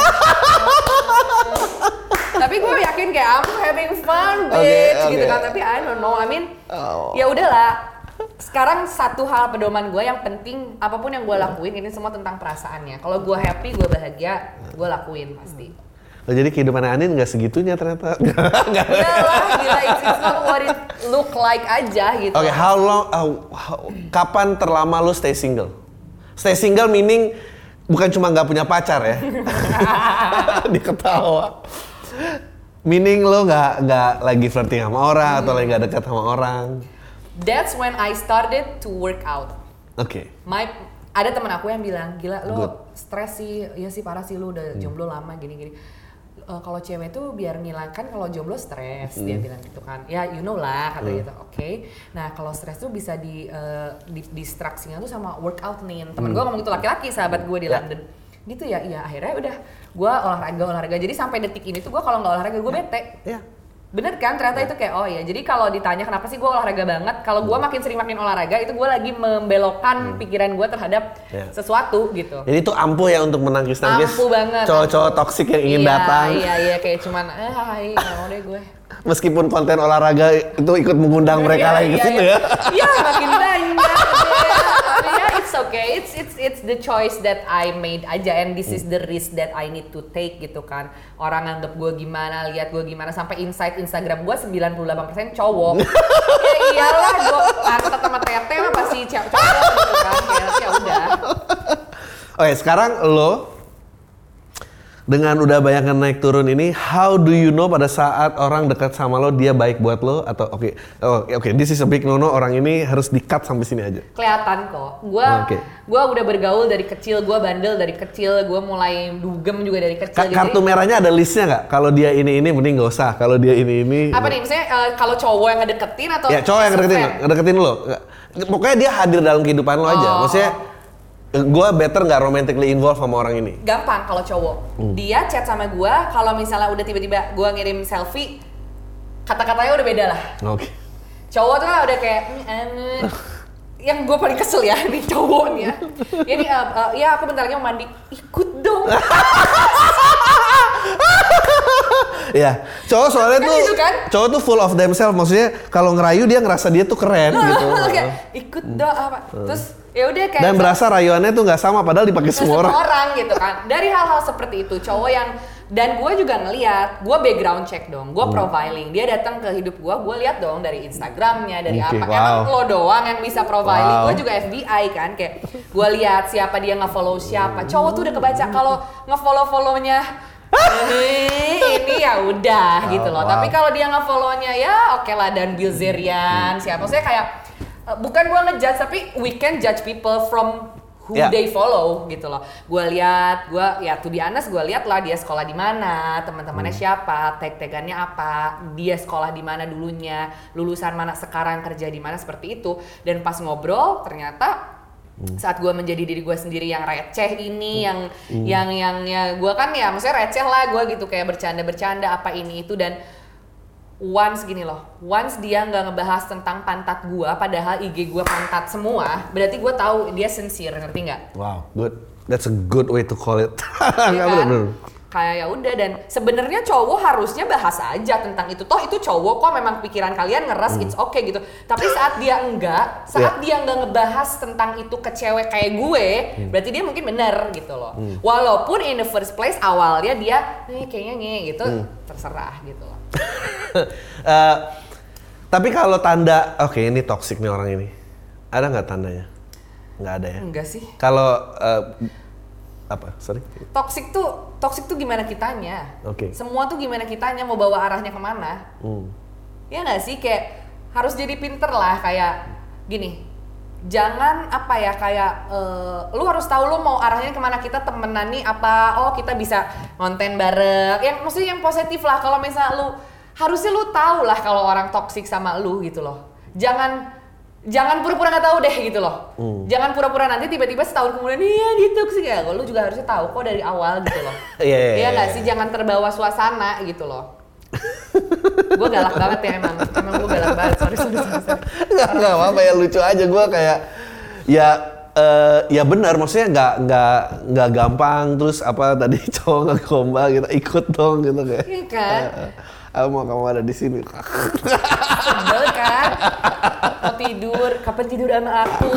Tapi gue yakin kayak I'm having fun bitch gitu kan, tapi I don't know, I mean ya udahlah. Sekarang satu hal pedoman gue yang penting, apapun yang gue lakuin ini semua tentang perasaannya. Kalau gue happy, gue bahagia, gue lakuin pasti. Jadi kehidupan Anin nggak segitunya ternyata. Iyalah, gila, it's not what it look like aja gitu. Oke, how long? Kapan terlama lu stay single? Stay single meaning bukan cuma nggak punya pacar ya? Diketawa. Meaning lo nggak lagi flirting sama orang atau lagi nggak dekat sama orang? That's when I started to work out. Oke. Ada teman aku yang bilang, gila lo stres sih, iya sih parah sih lo udah jomblo lama gini-gini. Kalau cewek tuh biar ngilangkan kalau jomblo stres, dia bilang gitu kan. Ya you know lah kata gitu. Oke. Nah kalau stres tuh bisa distraksinya tuh sama workout nih. Temen gue ngomong gitu, laki-laki sahabat gue di London. Gitu ya, iya akhirnya udah gue olahraga. Jadi sampai detik ini tuh gue kalau nggak olahraga gue bete. Iya. Bener kan, ternyata itu kayak oh ya, jadi kalau ditanya kenapa sih gue olahraga banget, kalau gue makin sering olahraga itu gue lagi membelokkan pikiran gue terhadap sesuatu gitu. Jadi itu ampuh ya untuk menangkis-nangkis ampuh banget cowok-cowok toksik yang ingin datang. Iya kayak cuman hai nggak mau deh gue. Meskipun konten olahraga itu ikut mengundang mereka lagi ke situ ya. Iya makin banyak. It's okay, it's the choice that I made aja, and this is the risk that I need to take gitu kan. Orang nganggep gue gimana, lihat gue gimana, sampai insight Instagram gue 98% cowok. Ya iyalah, gue angkat sama tete mah pasti cowok gitu kan, ya udah. Oke, sekarang lo dengan udah banyak naik turun ini, how do you know pada saat orang dekat sama lo dia baik buat lo atau oke, this is a big no-no, orang ini harus di-cut sampai sini aja. Kelihatan kok. Gua udah bergaul dari kecil, gua bandel dari kecil, gua mulai dugem juga dari kecil. Kartu merahnya ada listnya nggak? Kalau dia ini mending nggak usah. Kalau dia ini. Apa nih? Misalnya kalau cowok yang ngedeketin atau? Ya cowok yang ngedeketin lo. Pokoknya dia hadir dalam kehidupan lo aja. Maksudnya gue better nggak romantically involved sama orang ini. Gampang kalau cowok. Dia chat sama gue, kalau misalnya udah tiba-tiba gue ngirim selfie, kata-katanya udah beda lah. Oke. Cowok tuh kan udah kayak yang gue paling kesel ya nih cowoknya. Ini ya aku bentar lagi mau mandi, ikut dong. Ya, cowok soalnya kan tuh gitu kan? Cowok tuh full of themselves, maksudnya kalau ngerayu dia ngerasa dia tuh keren gitu. Kayak ikut dong apa. Terus ya udah kayak dan berasa rayuannya tuh nggak sama padahal dipakai semua orang gitu kan. Dari hal-hal seperti itu cowok yang, dan gue juga ngeliat, gue background check dong, gue profiling, dia datang ke hidup gue lihat dong dari Instagramnya, dari apa. Emang lo doang yang bisa profiling, gue juga FBI kan, kayak gue lihat siapa dia nge-follow siapa. Cowok tuh udah kebaca kalau nge-follow-follownya ini ya udah gitu loh. Tapi kalau dia nge-follow-nya ya oke lah, Dan Bilzerian siapa, saya kayak bukan gue ngejudge, tapi we can judge people from who they follow gitu loh. Gue to be honest, gue lihat lah dia sekolah di mana, teman-temannya siapa, tag-tagannya apa, dia sekolah di mana dulunya, lulusan mana sekarang, kerja di mana, seperti itu. Dan pas ngobrol ternyata saat gue menjadi diri gue sendiri yang receh ini, yang gue kan ya maksudnya receh lah gue gitu, kayak bercanda apa ini itu, dan once dia nggak ngebahas tentang pantat gue, padahal IG gue pantat semua, berarti gue tahu dia sincere, ngerti nggak? Wow, good, that's a good way to call it. Ya kan? Kayak ya udah, dan sebenarnya cowok harusnya bahas aja tentang itu, toh itu cowok kok, memang pikiran kalian ngeres, it's okay gitu. Tapi saat dia nggak ngebahas tentang itu ke cewek kayak gue, berarti dia mungkin bener gitu loh. Walaupun in the first place awalnya dia kayaknya gitu, terserah gitu loh. Tapi kalau tanda, oke, ini toxic nih orang ini, ada nggak tandanya? Nggak ada ya? Enggak sih. Kalau sorry? Toxic tuh gimana kitanya? Oke. Semua tuh gimana kitanya, mau bawa arahnya kemana? Ya nggak sih, kayak harus jadi pinter lah, kayak gini. Jangan lu harus tahu lu mau arahnya kemana. Kita temenan nih apa? Oh, kita bisa konten bareng. Yang maksudnya yang positif lah. Kalau misalnya harusnya lu tahu lah kalau orang toksik sama lu gitu loh. Jangan pura-pura nggak tahu deh gitu loh. Jangan pura-pura nanti tiba-tiba setahun kemudian dia toksik ya. Lu juga harusnya tahu kok dari awal gitu loh. Iya nggak sih, jangan terbawa suasana gitu loh. Gue galak banget ya emang gue galak banget, sorry. Nggak apa-apa ya, lucu aja gue kayak ya benar, maksudnya nggak gampang terus apa tadi cowok ngegombal gitu, ikut dong gitu kayak. Iya kan? Aku mau kamu ada di sini. Sebel kan? Mau tidur, kapan tidur sama aku?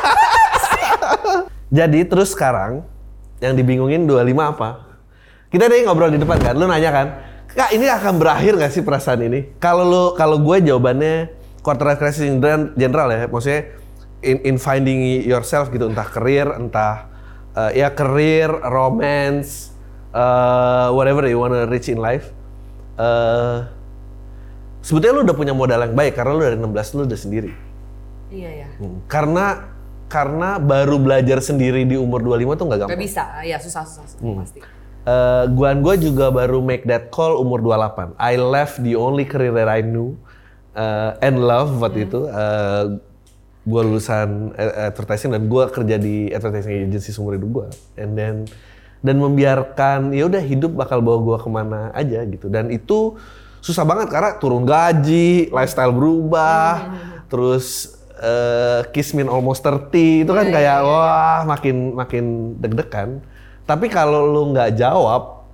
Jadi terus sekarang yang dibingungin 25 apa? Kita tadi ngobrol di depan kan, lu nanya kan, Kak, ini akan berakhir nggak sih perasaan ini? Kalau gue jawabannya quarter life crisis in general ya, maksudnya in finding yourself gitu, entah karir, entah karir, romance, whatever you wanna reach in life. Sebetulnya lu udah punya modal yang baik karena lu dari 16 lu udah sendiri. Iya ya. Karena baru belajar sendiri di umur 25 tuh nggak gampang. Gak bisa, ya susah pasti. Gue juga baru make that call umur 28. I left the only career that I knew and love waktu itu. Gue lulusan advertising dan gue kerja di advertising agency seumur hidup gue. Dan membiarkan ya udah hidup bakal bawa gue kemana aja gitu. Dan itu susah banget karena turun gaji, lifestyle berubah, terus kiss me almost 30 itu kan kayak wah makin deg-degan. Tapi kalau lu nggak jawab,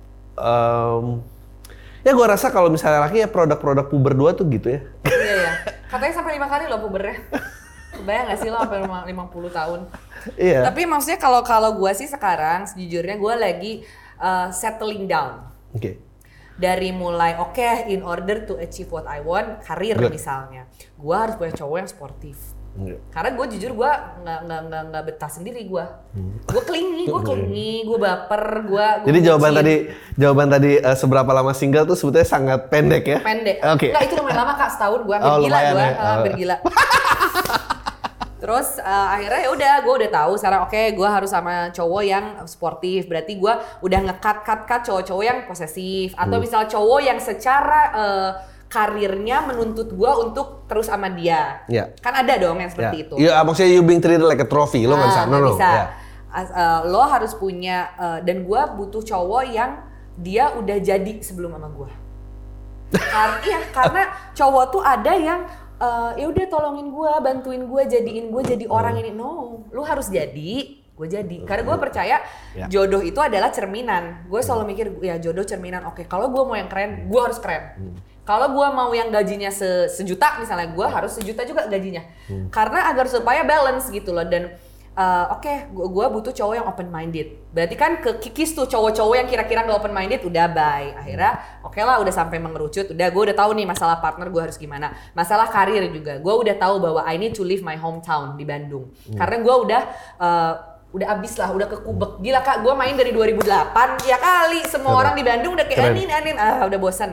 ya gue rasa kalau misalnya laki ya produk-produk puber 2 tuh gitu ya. Iya ya. Katanya sampai 5 kali loh pubernya. Kebayang nggak sih lo sampai 50 tahun? Iya. Tapi maksudnya kalau gue sih sekarang sejujurnya gue lagi settling down. Oke. Dari mulai in order to achieve what I want, karir misalnya, gue harus punya cowok yang sportif. Karena gue jujur gue nggak betah sendiri gue. Gue clingy, gue baper, gue. Jadi jawaban tadi seberapa lama single tuh sebetulnya sangat pendek ya? Pendek. Oke. Nggak, itu lumayan lama Kak, setahun gue hampir gila. Terus akhirnya ya udah, gue udah tahu sekarang gue harus sama cowok yang sportif. Berarti gue udah nge-cut cowok-cowok yang posesif atau misal cowok yang secara karirnya menuntut gue untuk terus sama dia. Yeah. Kan ada dong yang seperti itu. Iya, maksudnya you being treated like a trophy, lo nggak bisa. No. Lo harus punya dan gue butuh cowok yang dia udah jadi sebelum sama gue. Karena cowok tuh ada yang ya udah tolongin gue, bantuin gue, jadiin gue jadi orang ini. No, lu harus jadi, gue jadi. Karena gue percaya jodoh itu adalah cerminan. Gue selalu mikir ya jodoh cerminan. Oke, kalau gue mau yang keren, gue harus keren. Kalau gue mau yang gajinya sejuta misalnya, gue harus sejuta juga gajinya. Karena agar supaya balance gitu loh. Dan gue butuh cowok yang open minded. Berarti kan kikis tuh cowok-cowok yang kira-kira nggak open minded udah bye. Akhirnya lah udah sampai mengerucut. Udah gue udah tahu nih masalah partner gue harus gimana. Masalah karir juga. Gue udah tahu bahwa I need to leave my hometown di Bandung. Karena gue udah abis lah, udah kekubek. Gila Kak, gue main dari 2008. Ya kali semua orang di Bandung udah kayak anin. Udah bosan.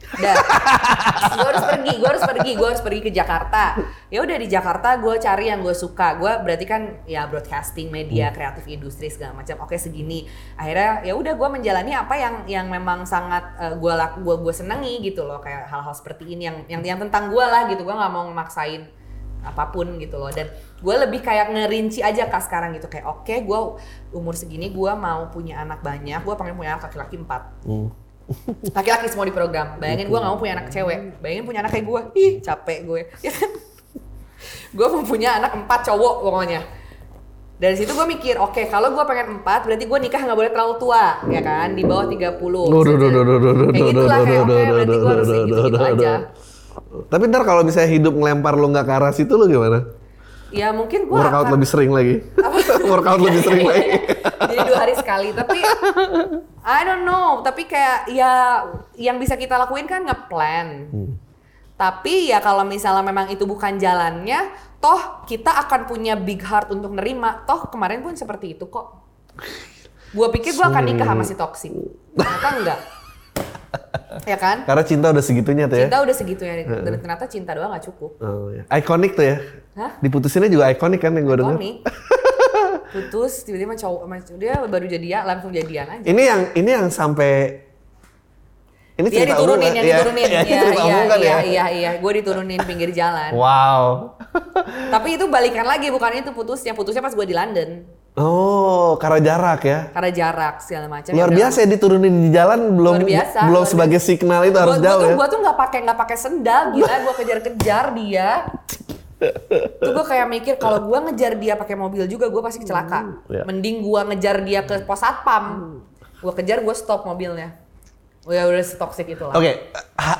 Gue harus pergi ke Jakarta. Ya udah di Jakarta gue cari yang gue suka. Gue berarti kan ya broadcasting, media, kreatif industri segala macam. Oke segini. Akhirnya ya udah gue menjalani apa yang memang sangat gue senangi gitu loh, kayak hal-hal seperti ini yang tentang gue lah gitu. Gue nggak mau memaksain apapun gitu loh, dan gue lebih kayak ngerinci aja Kak sekarang gitu, kayak oke, gue umur segini gue mau punya anak banyak, gue pengen punya anak laki-laki 4. Laki-laki semua di program. Bayangin gue gak mau punya anak cewek. Bayangin punya anak kayak gue. Ih capek gue. Ya kan? Gue mau punya anak 4 cowok pokoknya. Dari situ gue mikir, oke, kalau gue pengen 4 berarti gue nikah gak boleh terlalu tua, ya kan? Di bawah 30. Kayak gitulah, kayak oke, berarti gue harus gitu-gitu aja. Tapi ntar kalau misalnya hidup ngelempar lo gak ke arah situ lo gimana? Ya mungkin gue workout lebih sering lagi. Workout lebih sering lagi. Jadi 2 hari sekali, tapi I don't know, tapi kayak ya yang bisa kita lakuin kan nge-plan. Tapi ya kalau misalnya memang itu bukan jalannya, toh kita akan punya big heart untuk nerima. Toh kemarin pun seperti itu kok. Gue pikir gue akan nikah sama si toksik. Ternyata enggak. Ya kan? Karena cinta udah segitunya tuh ya. Cinta udah segitunya, dan ternyata cinta doang gak cukup. Oh, ya. Ikonik tuh ya. Hah? Diputusinnya juga ikonik kan yang gue dengar. Ikonik. Putus tiba-tiba dia baru jadian, langsung jadian aja. Ini yang sampai ini dia diturunin, yang diturunin. Iya, gue diturunin pinggir jalan. Wow. Tapi itu balikan lagi, bukan itu putusnya pas gue di London. Oh, karena jarak ya? Karena jarak segala macam. Luar biasa ya, diturunin di jalan belum sebagai signal itu harus jauh ya. Gue tuh nggak pakai sendal, gila gue kejar-kejar dia. Tuh gue kayak mikir kalau gue ngejar dia pakai mobil juga gue pasti kecelaka. Mending gue ngejar dia ke pos satpam. Gue kejar, gue stop mobilnya. Udah toxic itu lah. Oke,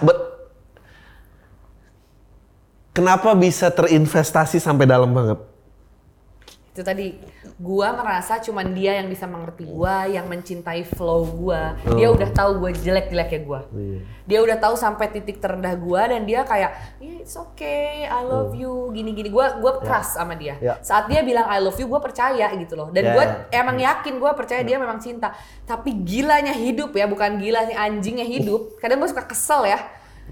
kenapa bisa terinvestasi sampai dalam banget? Itu tadi, gua merasa cuman dia yang bisa mengerti gua, yang mencintai flow gua. Dia udah tahu gua jelek-jeleknya gua. Dia udah tahu sampai titik terendah gua, dan dia kayak, yeah, it's okay, I love you, gini-gini. Gua trust sama dia. Saat dia bilang I love you, gua percaya gitu loh. Dan gua emang yakin, gua percaya dia memang cinta. Tapi gilanya hidup ya, bukan gila nih anjingnya hidup. Kadang gua suka kesel ya.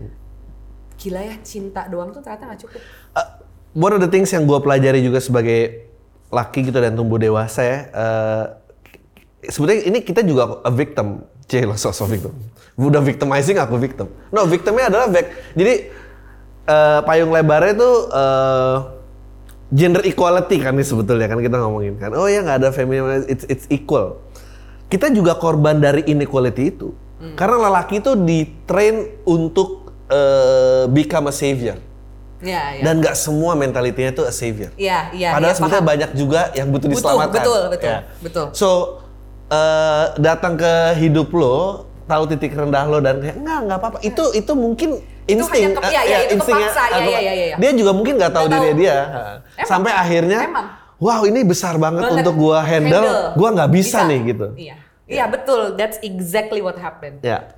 Gila ya, cinta doang tuh ternyata gak cukup. One of the things yang gua pelajari juga sebagai laki gitu dan tumbuh dewasa ya, sebetulnya ini kita juga a victim, sosok victim. Udah victimizing, aku victim. No, victimnya adalah jadi payung lebarnya itu gender equality kan nih sebetulnya kan kita ngomongin kan. Oh ya nggak ada feminism, it's equal. Kita juga korban dari inequality itu, karena lelaki itu ditrain untuk become a savior. Ya. Dan nggak semua mentalitinya itu a savior. Iya. Padahal sebetulnya banyak juga yang butuh diselamatkan. Betul. So datang ke hidup lo, tahu titik rendah lo dan kayak nggak apa-apa. Itu mungkin insting. Itu kepaksa. Iya. Dia juga mungkin nggak tahu diri dia. Sampai akhirnya, wow ini besar banget untuk gua handle. Gua nggak bisa nih gitu. Iya betul. That's exactly what happened. Ya.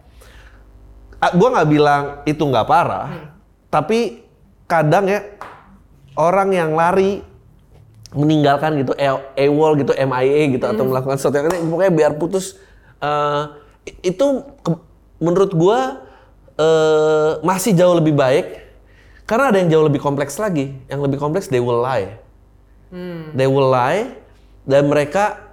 Gua nggak bilang itu nggak parah, tapi kadang ya orang yang lari meninggalkan gitu AWOL gitu, MIA gitu atau melakukan sesuatu yang pokoknya biar putus, itu menurut gua masih jauh lebih baik karena ada yang jauh lebih kompleks lagi. Yang lebih kompleks, they will lie. They will lie dan mereka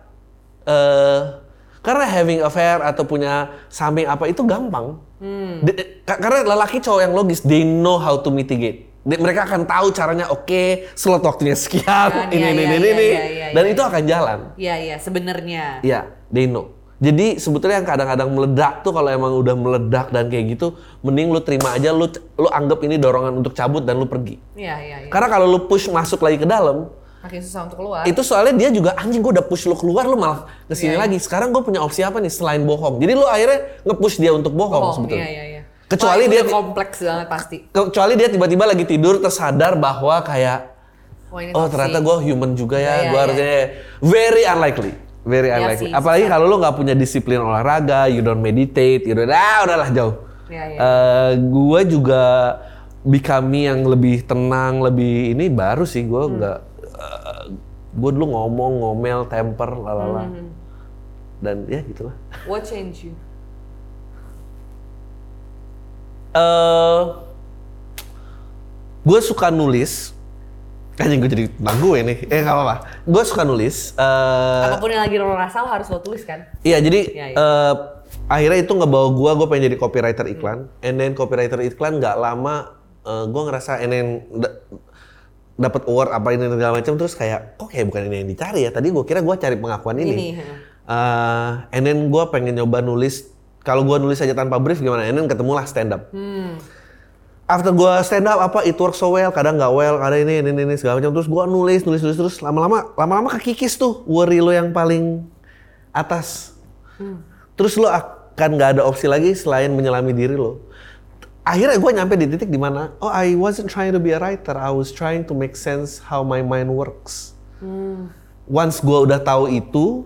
karena having affair atau punya samping apa itu gampang. Karena lelaki cowok yang logis, they know how to mitigate. Mereka akan tahu caranya, oke, slot waktunya sekian, ini, dan itu akan jalan. Iya, sebenarnya. Iya, they know. Jadi sebetulnya yang kadang-kadang meledak tuh kalau emang udah meledak dan kayak gitu, mending lu terima aja, lu anggap ini dorongan untuk cabut dan lu pergi. Iya. Karena kalau lu push masuk lagi ke dalam, makin susah untuk keluar. Itu soalnya dia juga anjing, gue udah push lu keluar, lu malah kesini lagi. Sekarang gue punya opsi apa nih selain bohong? Jadi lu akhirnya nge-push dia untuk bohong sebetulnya. Iya. Kecuali dia kompleks banget pasti. Kecuali dia tiba-tiba lagi tidur tersadar bahwa kayak ternyata gue human juga ya. Gue harusnya very unlikely. Sih, apalagi kalau lo nggak punya disiplin olahraga, you don't meditate, udahlah jauh. Gue juga becoming yang lebih tenang, lebih ini baru sih gue nggak. Gue dulu ngomel, temper, lalala. Dan ya gitulah. What changed you? Gue suka nulis. Kayaknya gue jadi tentang gue nih. Gak apa-apa. Gue suka nulis. Apapun yang lagi lo rasa lo harus lo tulis kan? Iya, jadi akhirnya itu ngebawa gue pengen jadi copywriter iklan. And then copywriter iklan gak lama gue ngerasa dapat award apa ini segala macam, terus kayak kok kayak bukan ini yang dicari ya. Tadi gue kira gue cari pengakuan ini. And then gue pengen nyoba nulis. Kalau gue nulis aja tanpa brief gimana? And then ketemulah stand up. After gue stand up it works so well, kadang nggak well, kadang ini segala macam. Terus gue nulis terus lama-lama kekikis tuh worry lo yang paling atas. Terus lo akan nggak ada opsi lagi selain menyelami diri lo. Akhirnya gue nyampe di titik dimana, I wasn't trying to be a writer, I was trying to make sense how my mind works. Once gue udah tahu itu,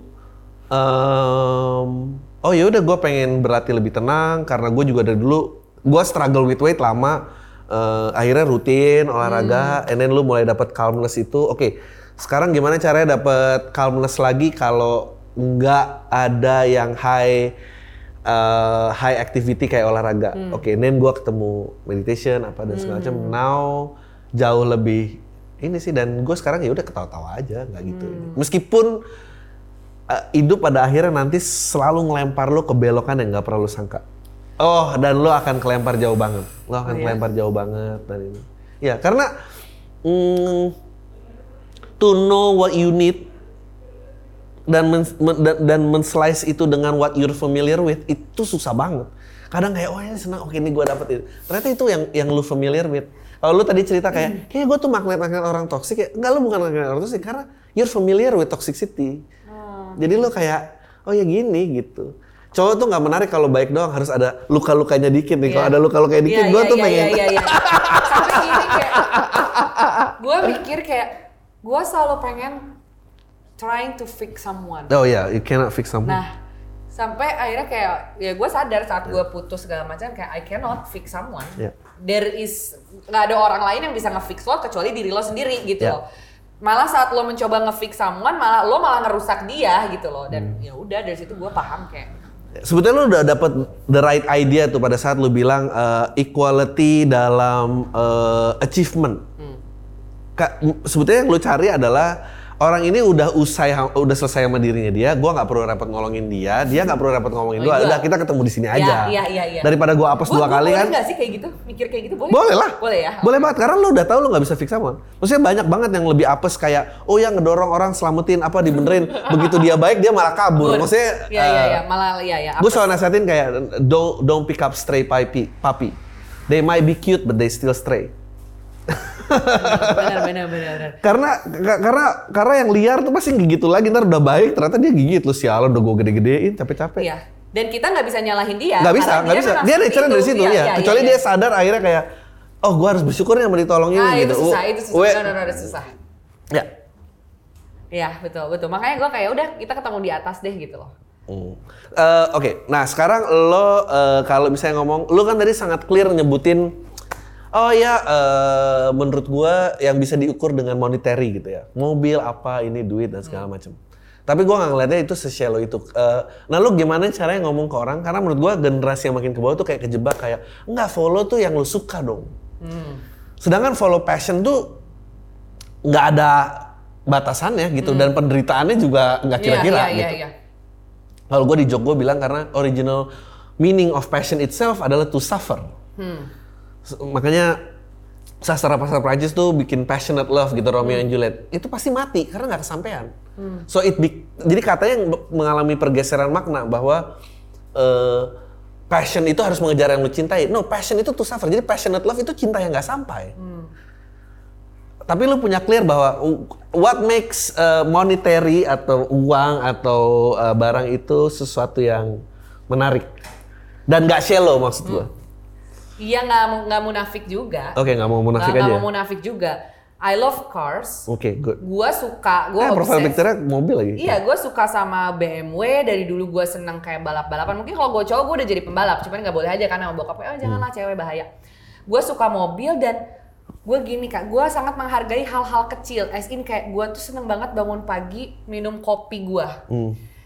ya udah gue pengen berlatih lebih tenang karena gue juga dari dulu gue struggle with weight lama, akhirnya rutin olahraga, and then lu mulai dapat calmness itu. Oke, sekarang gimana caranya dapat calmness lagi kalau nggak ada yang high activity kayak olahraga. Oke, then gue ketemu meditation apa dan segala macam. Now jauh lebih ini sih, dan gue sekarang ya udah ketawa-tawa aja, nggak gitu. Meskipun hidup pada akhirnya nanti selalu ngelempar lo ke belokan yang nggak pernah lo sangka. Dan lo akan kelempar jauh banget. Kelempar jauh banget dan ini. Ya, karena to know what you need dan men-slice itu dengan what you're familiar with itu susah banget. Kadang kayak ini senang, oke ini gue dapet itu. Ternyata itu yang lu familiar with. Kalau lu tadi cerita kayak gue tuh magnet orang toksik ya. Enggak, lu bukan magnet orang toksik karena you're familiar with toxicity. Jadi lu kayak ya gini gitu. Cowok tuh nggak menarik kalau baik doang, harus ada luka-lukanya dikit nih. Kalau ada luka-lukanya dikit, gue tuh pengen. Sampai gini kayak, gue mikir kayak, gue selalu pengen trying to fix someone. Oh ya, you cannot fix someone. Nah, sampai akhirnya kayak, ya gue sadar saat gue putus segala macam kayak I cannot fix someone. Nggak ada orang lain yang bisa nge-fix lo kecuali diri lo sendiri gitu loh. Malah saat lo mencoba nge-fix someone, lo malah ngerusak dia gitu loh. Dan ya udah dari situ gue paham kayak. Sebetulnya lu udah dapet the right idea tuh pada saat lu bilang equality dalam achievement. Sebetulnya yang lu cari adalah orang ini udah selesai sama dirinya dia, gua nggak perlu repot nolongin dia nggak perlu repot ngomongin gua, udah kita ketemu di sini aja. Iya. Daripada gua apes 2 kali kan. Boleh nggak sih kayak gitu? Mikir kayak gitu boleh? Boleh lah. Boleh ya. Boleh banget karena lu udah tahu lu nggak bisa fix sama. Maksudnya banyak banget yang lebih apes kayak yang ngedorong orang selamatin apa dibenerin, begitu dia baik dia malah kabur. Maksudnya malah. Gue selalu nasihatin kayak don't pick up stray puppy. They might be cute but they still stray. Benar. Karena yang liar tuh pasti gigit lagi, ntar udah baik ternyata dia gigit lu, sialan udah gue gede-gedein capek-capek. Iya. Dan kita nggak bisa nyalahin dia. Nggak bisa. Dia nature dari situ ya. Kecuali dia sadar akhirnya kayak, gue harus bersyukur yang ditolongin gitu. Itu susah. Ya. Iya betul. Makanya gue kayak udah kita ketemu di atas deh gitu loh. Oke. Nah sekarang lo kalau misalnya ngomong, lo kan tadi sangat clear nyebutin. Menurut gua yang bisa diukur dengan monetary gitu ya. Mobil apa, ini duit dan segala macam. Tapi gua nggak ngeliatnya itu se-shallow itu. Nah lu gimana caranya ngomong ke orang? Karena menurut gua generasi yang makin ke bawah tuh kayak kejebak kayak, enggak, follow tuh yang lu suka dong. Sedangkan follow passion tuh nggak ada batasannya gitu. Dan penderitaannya juga nggak kira-kira gitu. Kalau gua di jog gua bilang karena original meaning of passion itself adalah to suffer. Makanya sastra Prancis tuh bikin passionate love gitu, Romeo and Juliet. Itu pasti mati karena nggak kesampaian. Jadi katanya yang mengalami pergeseran makna bahwa passion itu harus mengejar yang lu cintai. No, passion itu to suffer. Jadi passionate love itu cinta yang nggak sampai. Tapi lu punya clear bahwa what makes monetary atau uang atau barang itu sesuatu yang menarik dan nggak shallow maksud gua. Iya, nggak munafik juga. Oke, nggak mau munafik aja. Nggak mau munafik juga. I love cars. Oke, good. Gua suka, profile picture-nya mobil lagi. Iya, gue suka sama BMW. Dari dulu gue seneng kayak balap-balapan. Mungkin kalau gue cowok gue udah jadi pembalap. Cuman nggak boleh aja karena sama bokapnya, janganlah cewek bahaya. Gue suka mobil dan gue gini Kak, gue sangat menghargai hal-hal kecil. As in kayak gue tuh seneng banget bangun pagi minum kopi gue.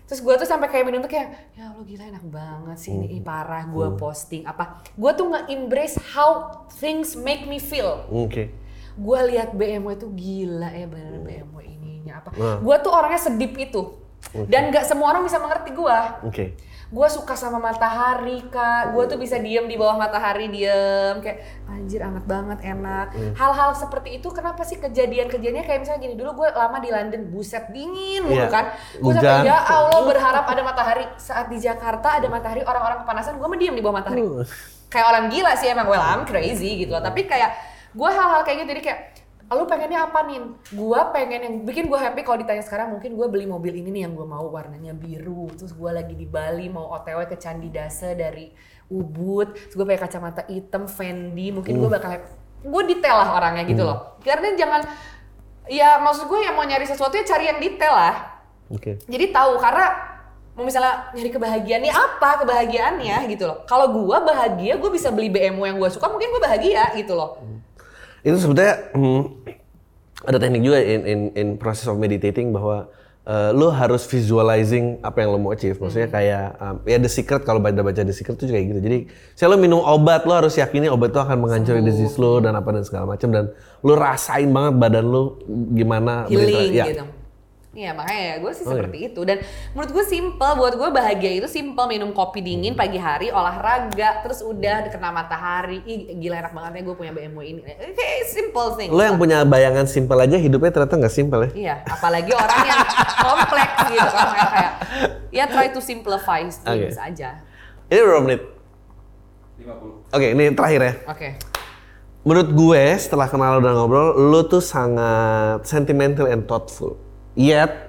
Terus gue tuh sampai kayak minum tuh kayak, ya Allah gila enak banget sih ini parah gue posting apa. Gue tuh nge-embrace how things make me feel. Gue lihat BMW tuh gila ya bener BMW ininya apa. Gue tuh orangnya sedip itu. Dan gak semua orang bisa mengerti gue. Gue suka sama matahari Kak, gue tuh bisa diem di bawah matahari kayak anjir hangat banget enak. Hal-hal seperti itu kenapa sih kejadiannya kayak misalnya gini, dulu gue lama di London, buset dingin mulu kan. Gue sampai ya Allah berharap ada matahari. Saat di Jakarta ada matahari, orang-orang kepanasan, gue mah diem di bawah matahari. Kayak orang gila sih emang, well I'm crazy gitu loh. Tapi kayak gue hal-hal kayak gitu jadi kayak lu pengennya apa nih? Gua pengen yang bikin gue happy kalau ditanya sekarang mungkin gue beli mobil ini nih yang gue mau warnanya biru. Terus gue lagi di Bali mau OTW ke Candi Dasa dari Ubud. Terus gue pakai kacamata hitam Fendi. Mungkin gue bakal gue detail lah orangnya gitu loh. Karena jangan ya maksud gue yang mau nyari sesuatu ya cari yang detail lah. Jadi tahu karena mau misalnya nyari kebahagiaan nih apa kebahagiaannya gitu loh. Kalau gue bahagia gue bisa beli BMW yang gue suka mungkin gue bahagia gitu loh. Itu sebetulnya ada teknik juga in process of meditating bahwa lo harus visualizing apa yang lo mau achieve. Maksudnya kayak ya The Secret, kalau baca The Secret tuh juga kayak gitu. Jadi saya lo minum obat, lo harus yakini obat itu akan menghancurkan disease lo dan apa dan segala macam, dan lo rasain banget badan lo gimana healing gitu. Iya makanya ya gue sih seperti itu, dan menurut gue simple, buat gue bahagia itu simple, minum kopi dingin pagi hari, olahraga, terus udah kena matahari, ih gila enak banget ya gue punya BMW ini, kayak simple thing. Lo yang punya bayangan simple aja hidupnya ternyata nggak simple ya? Iya, apalagi orang yang kompleks gitu kan, kayak ya try to simplify things aja. Ini berapa menit? 50. Oke, ini terakhir ya. Menurut gue setelah kenal dan ngobrol, lo tuh sangat sentimental and thoughtful. Yet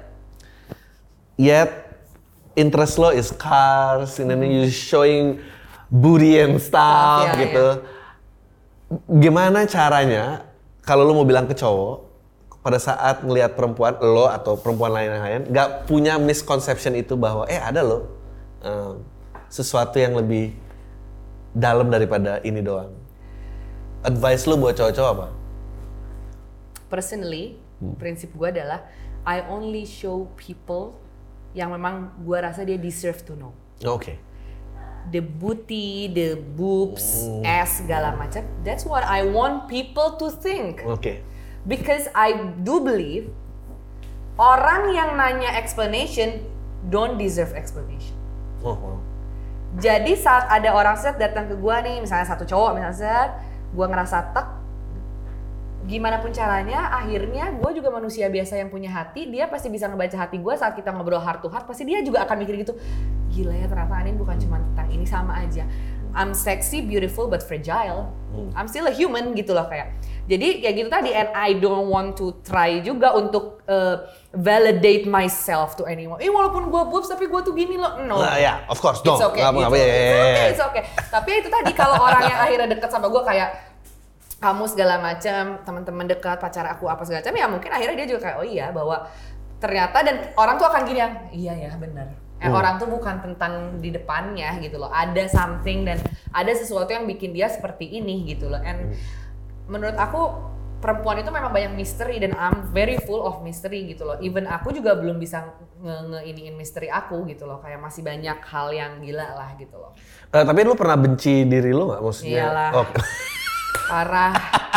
interest lo is cars, and then you showing booty and stuff gitu. Gimana caranya kalau lo mau bilang ke cowok pada saat ngelihat perempuan lo atau perempuan lain nggak punya misconception itu bahwa ada lo sesuatu yang lebih dalam daripada ini doang. Advice lo buat cowok-cowok apa? Personally, prinsip gue adalah I only show people yang memang gue rasa dia deserve to know. The booty, the boobs, ass, segala macam. That's what I want people to think. Because I do believe orang yang nanya explanation don't deserve explanation. Jadi saat ada orang set datang ke gue nih, misalnya satu cowok misalnya set, gue ngerasa tek. Gimana pun caranya, akhirnya gue juga manusia biasa yang punya hati, dia pasti bisa ngebaca hati gue saat kita ngobrol heart to heart, pasti dia juga akan mikir gitu, gila ya ternyata Anin bukan cuma tentang ini, sama aja. I'm sexy, beautiful, but fragile. I'm still a human gitu loh kayak. Jadi kayak gitu tadi, and I don't want to try juga untuk validate myself to anyone. Walaupun gue boobs tapi gue tuh gini loh, no. Of course, dong. It's okay, it's okay. Tapi itu tadi kalau orang yang akhirnya deket sama gue kayak, kamu segala macam, teman-teman dekat, pacar aku apa segala macam, ya mungkin akhirnya dia juga kayak oh iya bahwa ternyata, dan orang tuh akan gini yang iya ya benar. Orang tuh bukan tentang di depannya gitu loh, ada something dan ada sesuatu yang bikin dia seperti ini gitu loh. And menurut aku perempuan itu memang banyak misteri dan I'm very full of mystery gitu loh. Even aku juga belum bisa nge-iniin misteri aku gitu loh, kayak masih banyak hal yang gila lah gitu loh. Tapi lu pernah benci diri lu nggak maksudnya? Iyalah. Parah.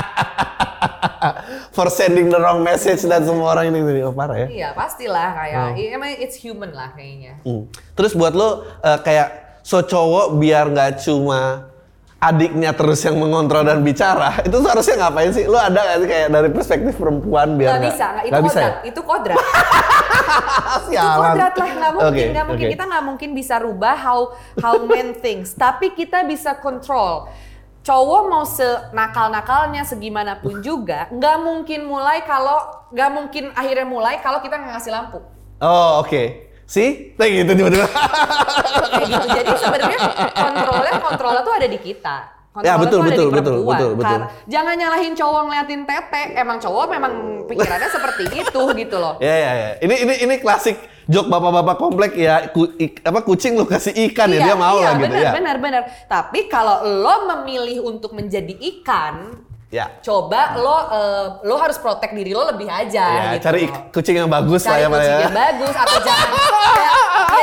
For sending the wrong message dan semua orang ini parah ya? Iya pastilah kayak, emang it's human lah kayaknya. Terus buat lo kayak so cowok biar nggak cuma adiknya terus yang mengontrol dan bicara, itu seharusnya ngapain sih? Lo ada nggak sih kayak dari perspektif perempuan biar nggak bisa, itu kodrat, ya? Itu kodrat. Itu kodrat lah, nggak mungkin. Kita nggak mungkin bisa rubah how men thinks, tapi kita bisa control. Cowok mau senakal-nakalnya segimana pun juga nggak mungkin akhirnya mulai kalau kita nggak ngasih lampu. Sih, kayak gitu tiba-tiba. Kayak gitu. Jadi sebenarnya kontrolnya tuh ada di kita. Ya betul. Jangan nyalahin cowok ngeliatin tete. Emang cowok memang pikirannya seperti itu gitu loh. Ya. Ini klasik joke bapak-bapak komplek ya. Kucing lu kasih ikan ya dia mau lah gitu ya. Benar. Tapi kalau lo memilih untuk menjadi ikan, coba lo harus protect diri lo lebih aja. Gitu. Cari kucing yang bagus lah ya. Cari kucing yang bagus atau jangan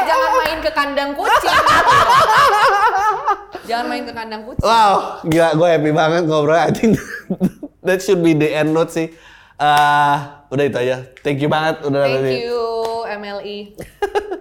ke kandang kucing. Jangan main ke kandang kucing. Wow, gila gue happy banget ngobrol. I think that should be the end note sih. Udah itu aja. Thank you banget udah Thank you MLI.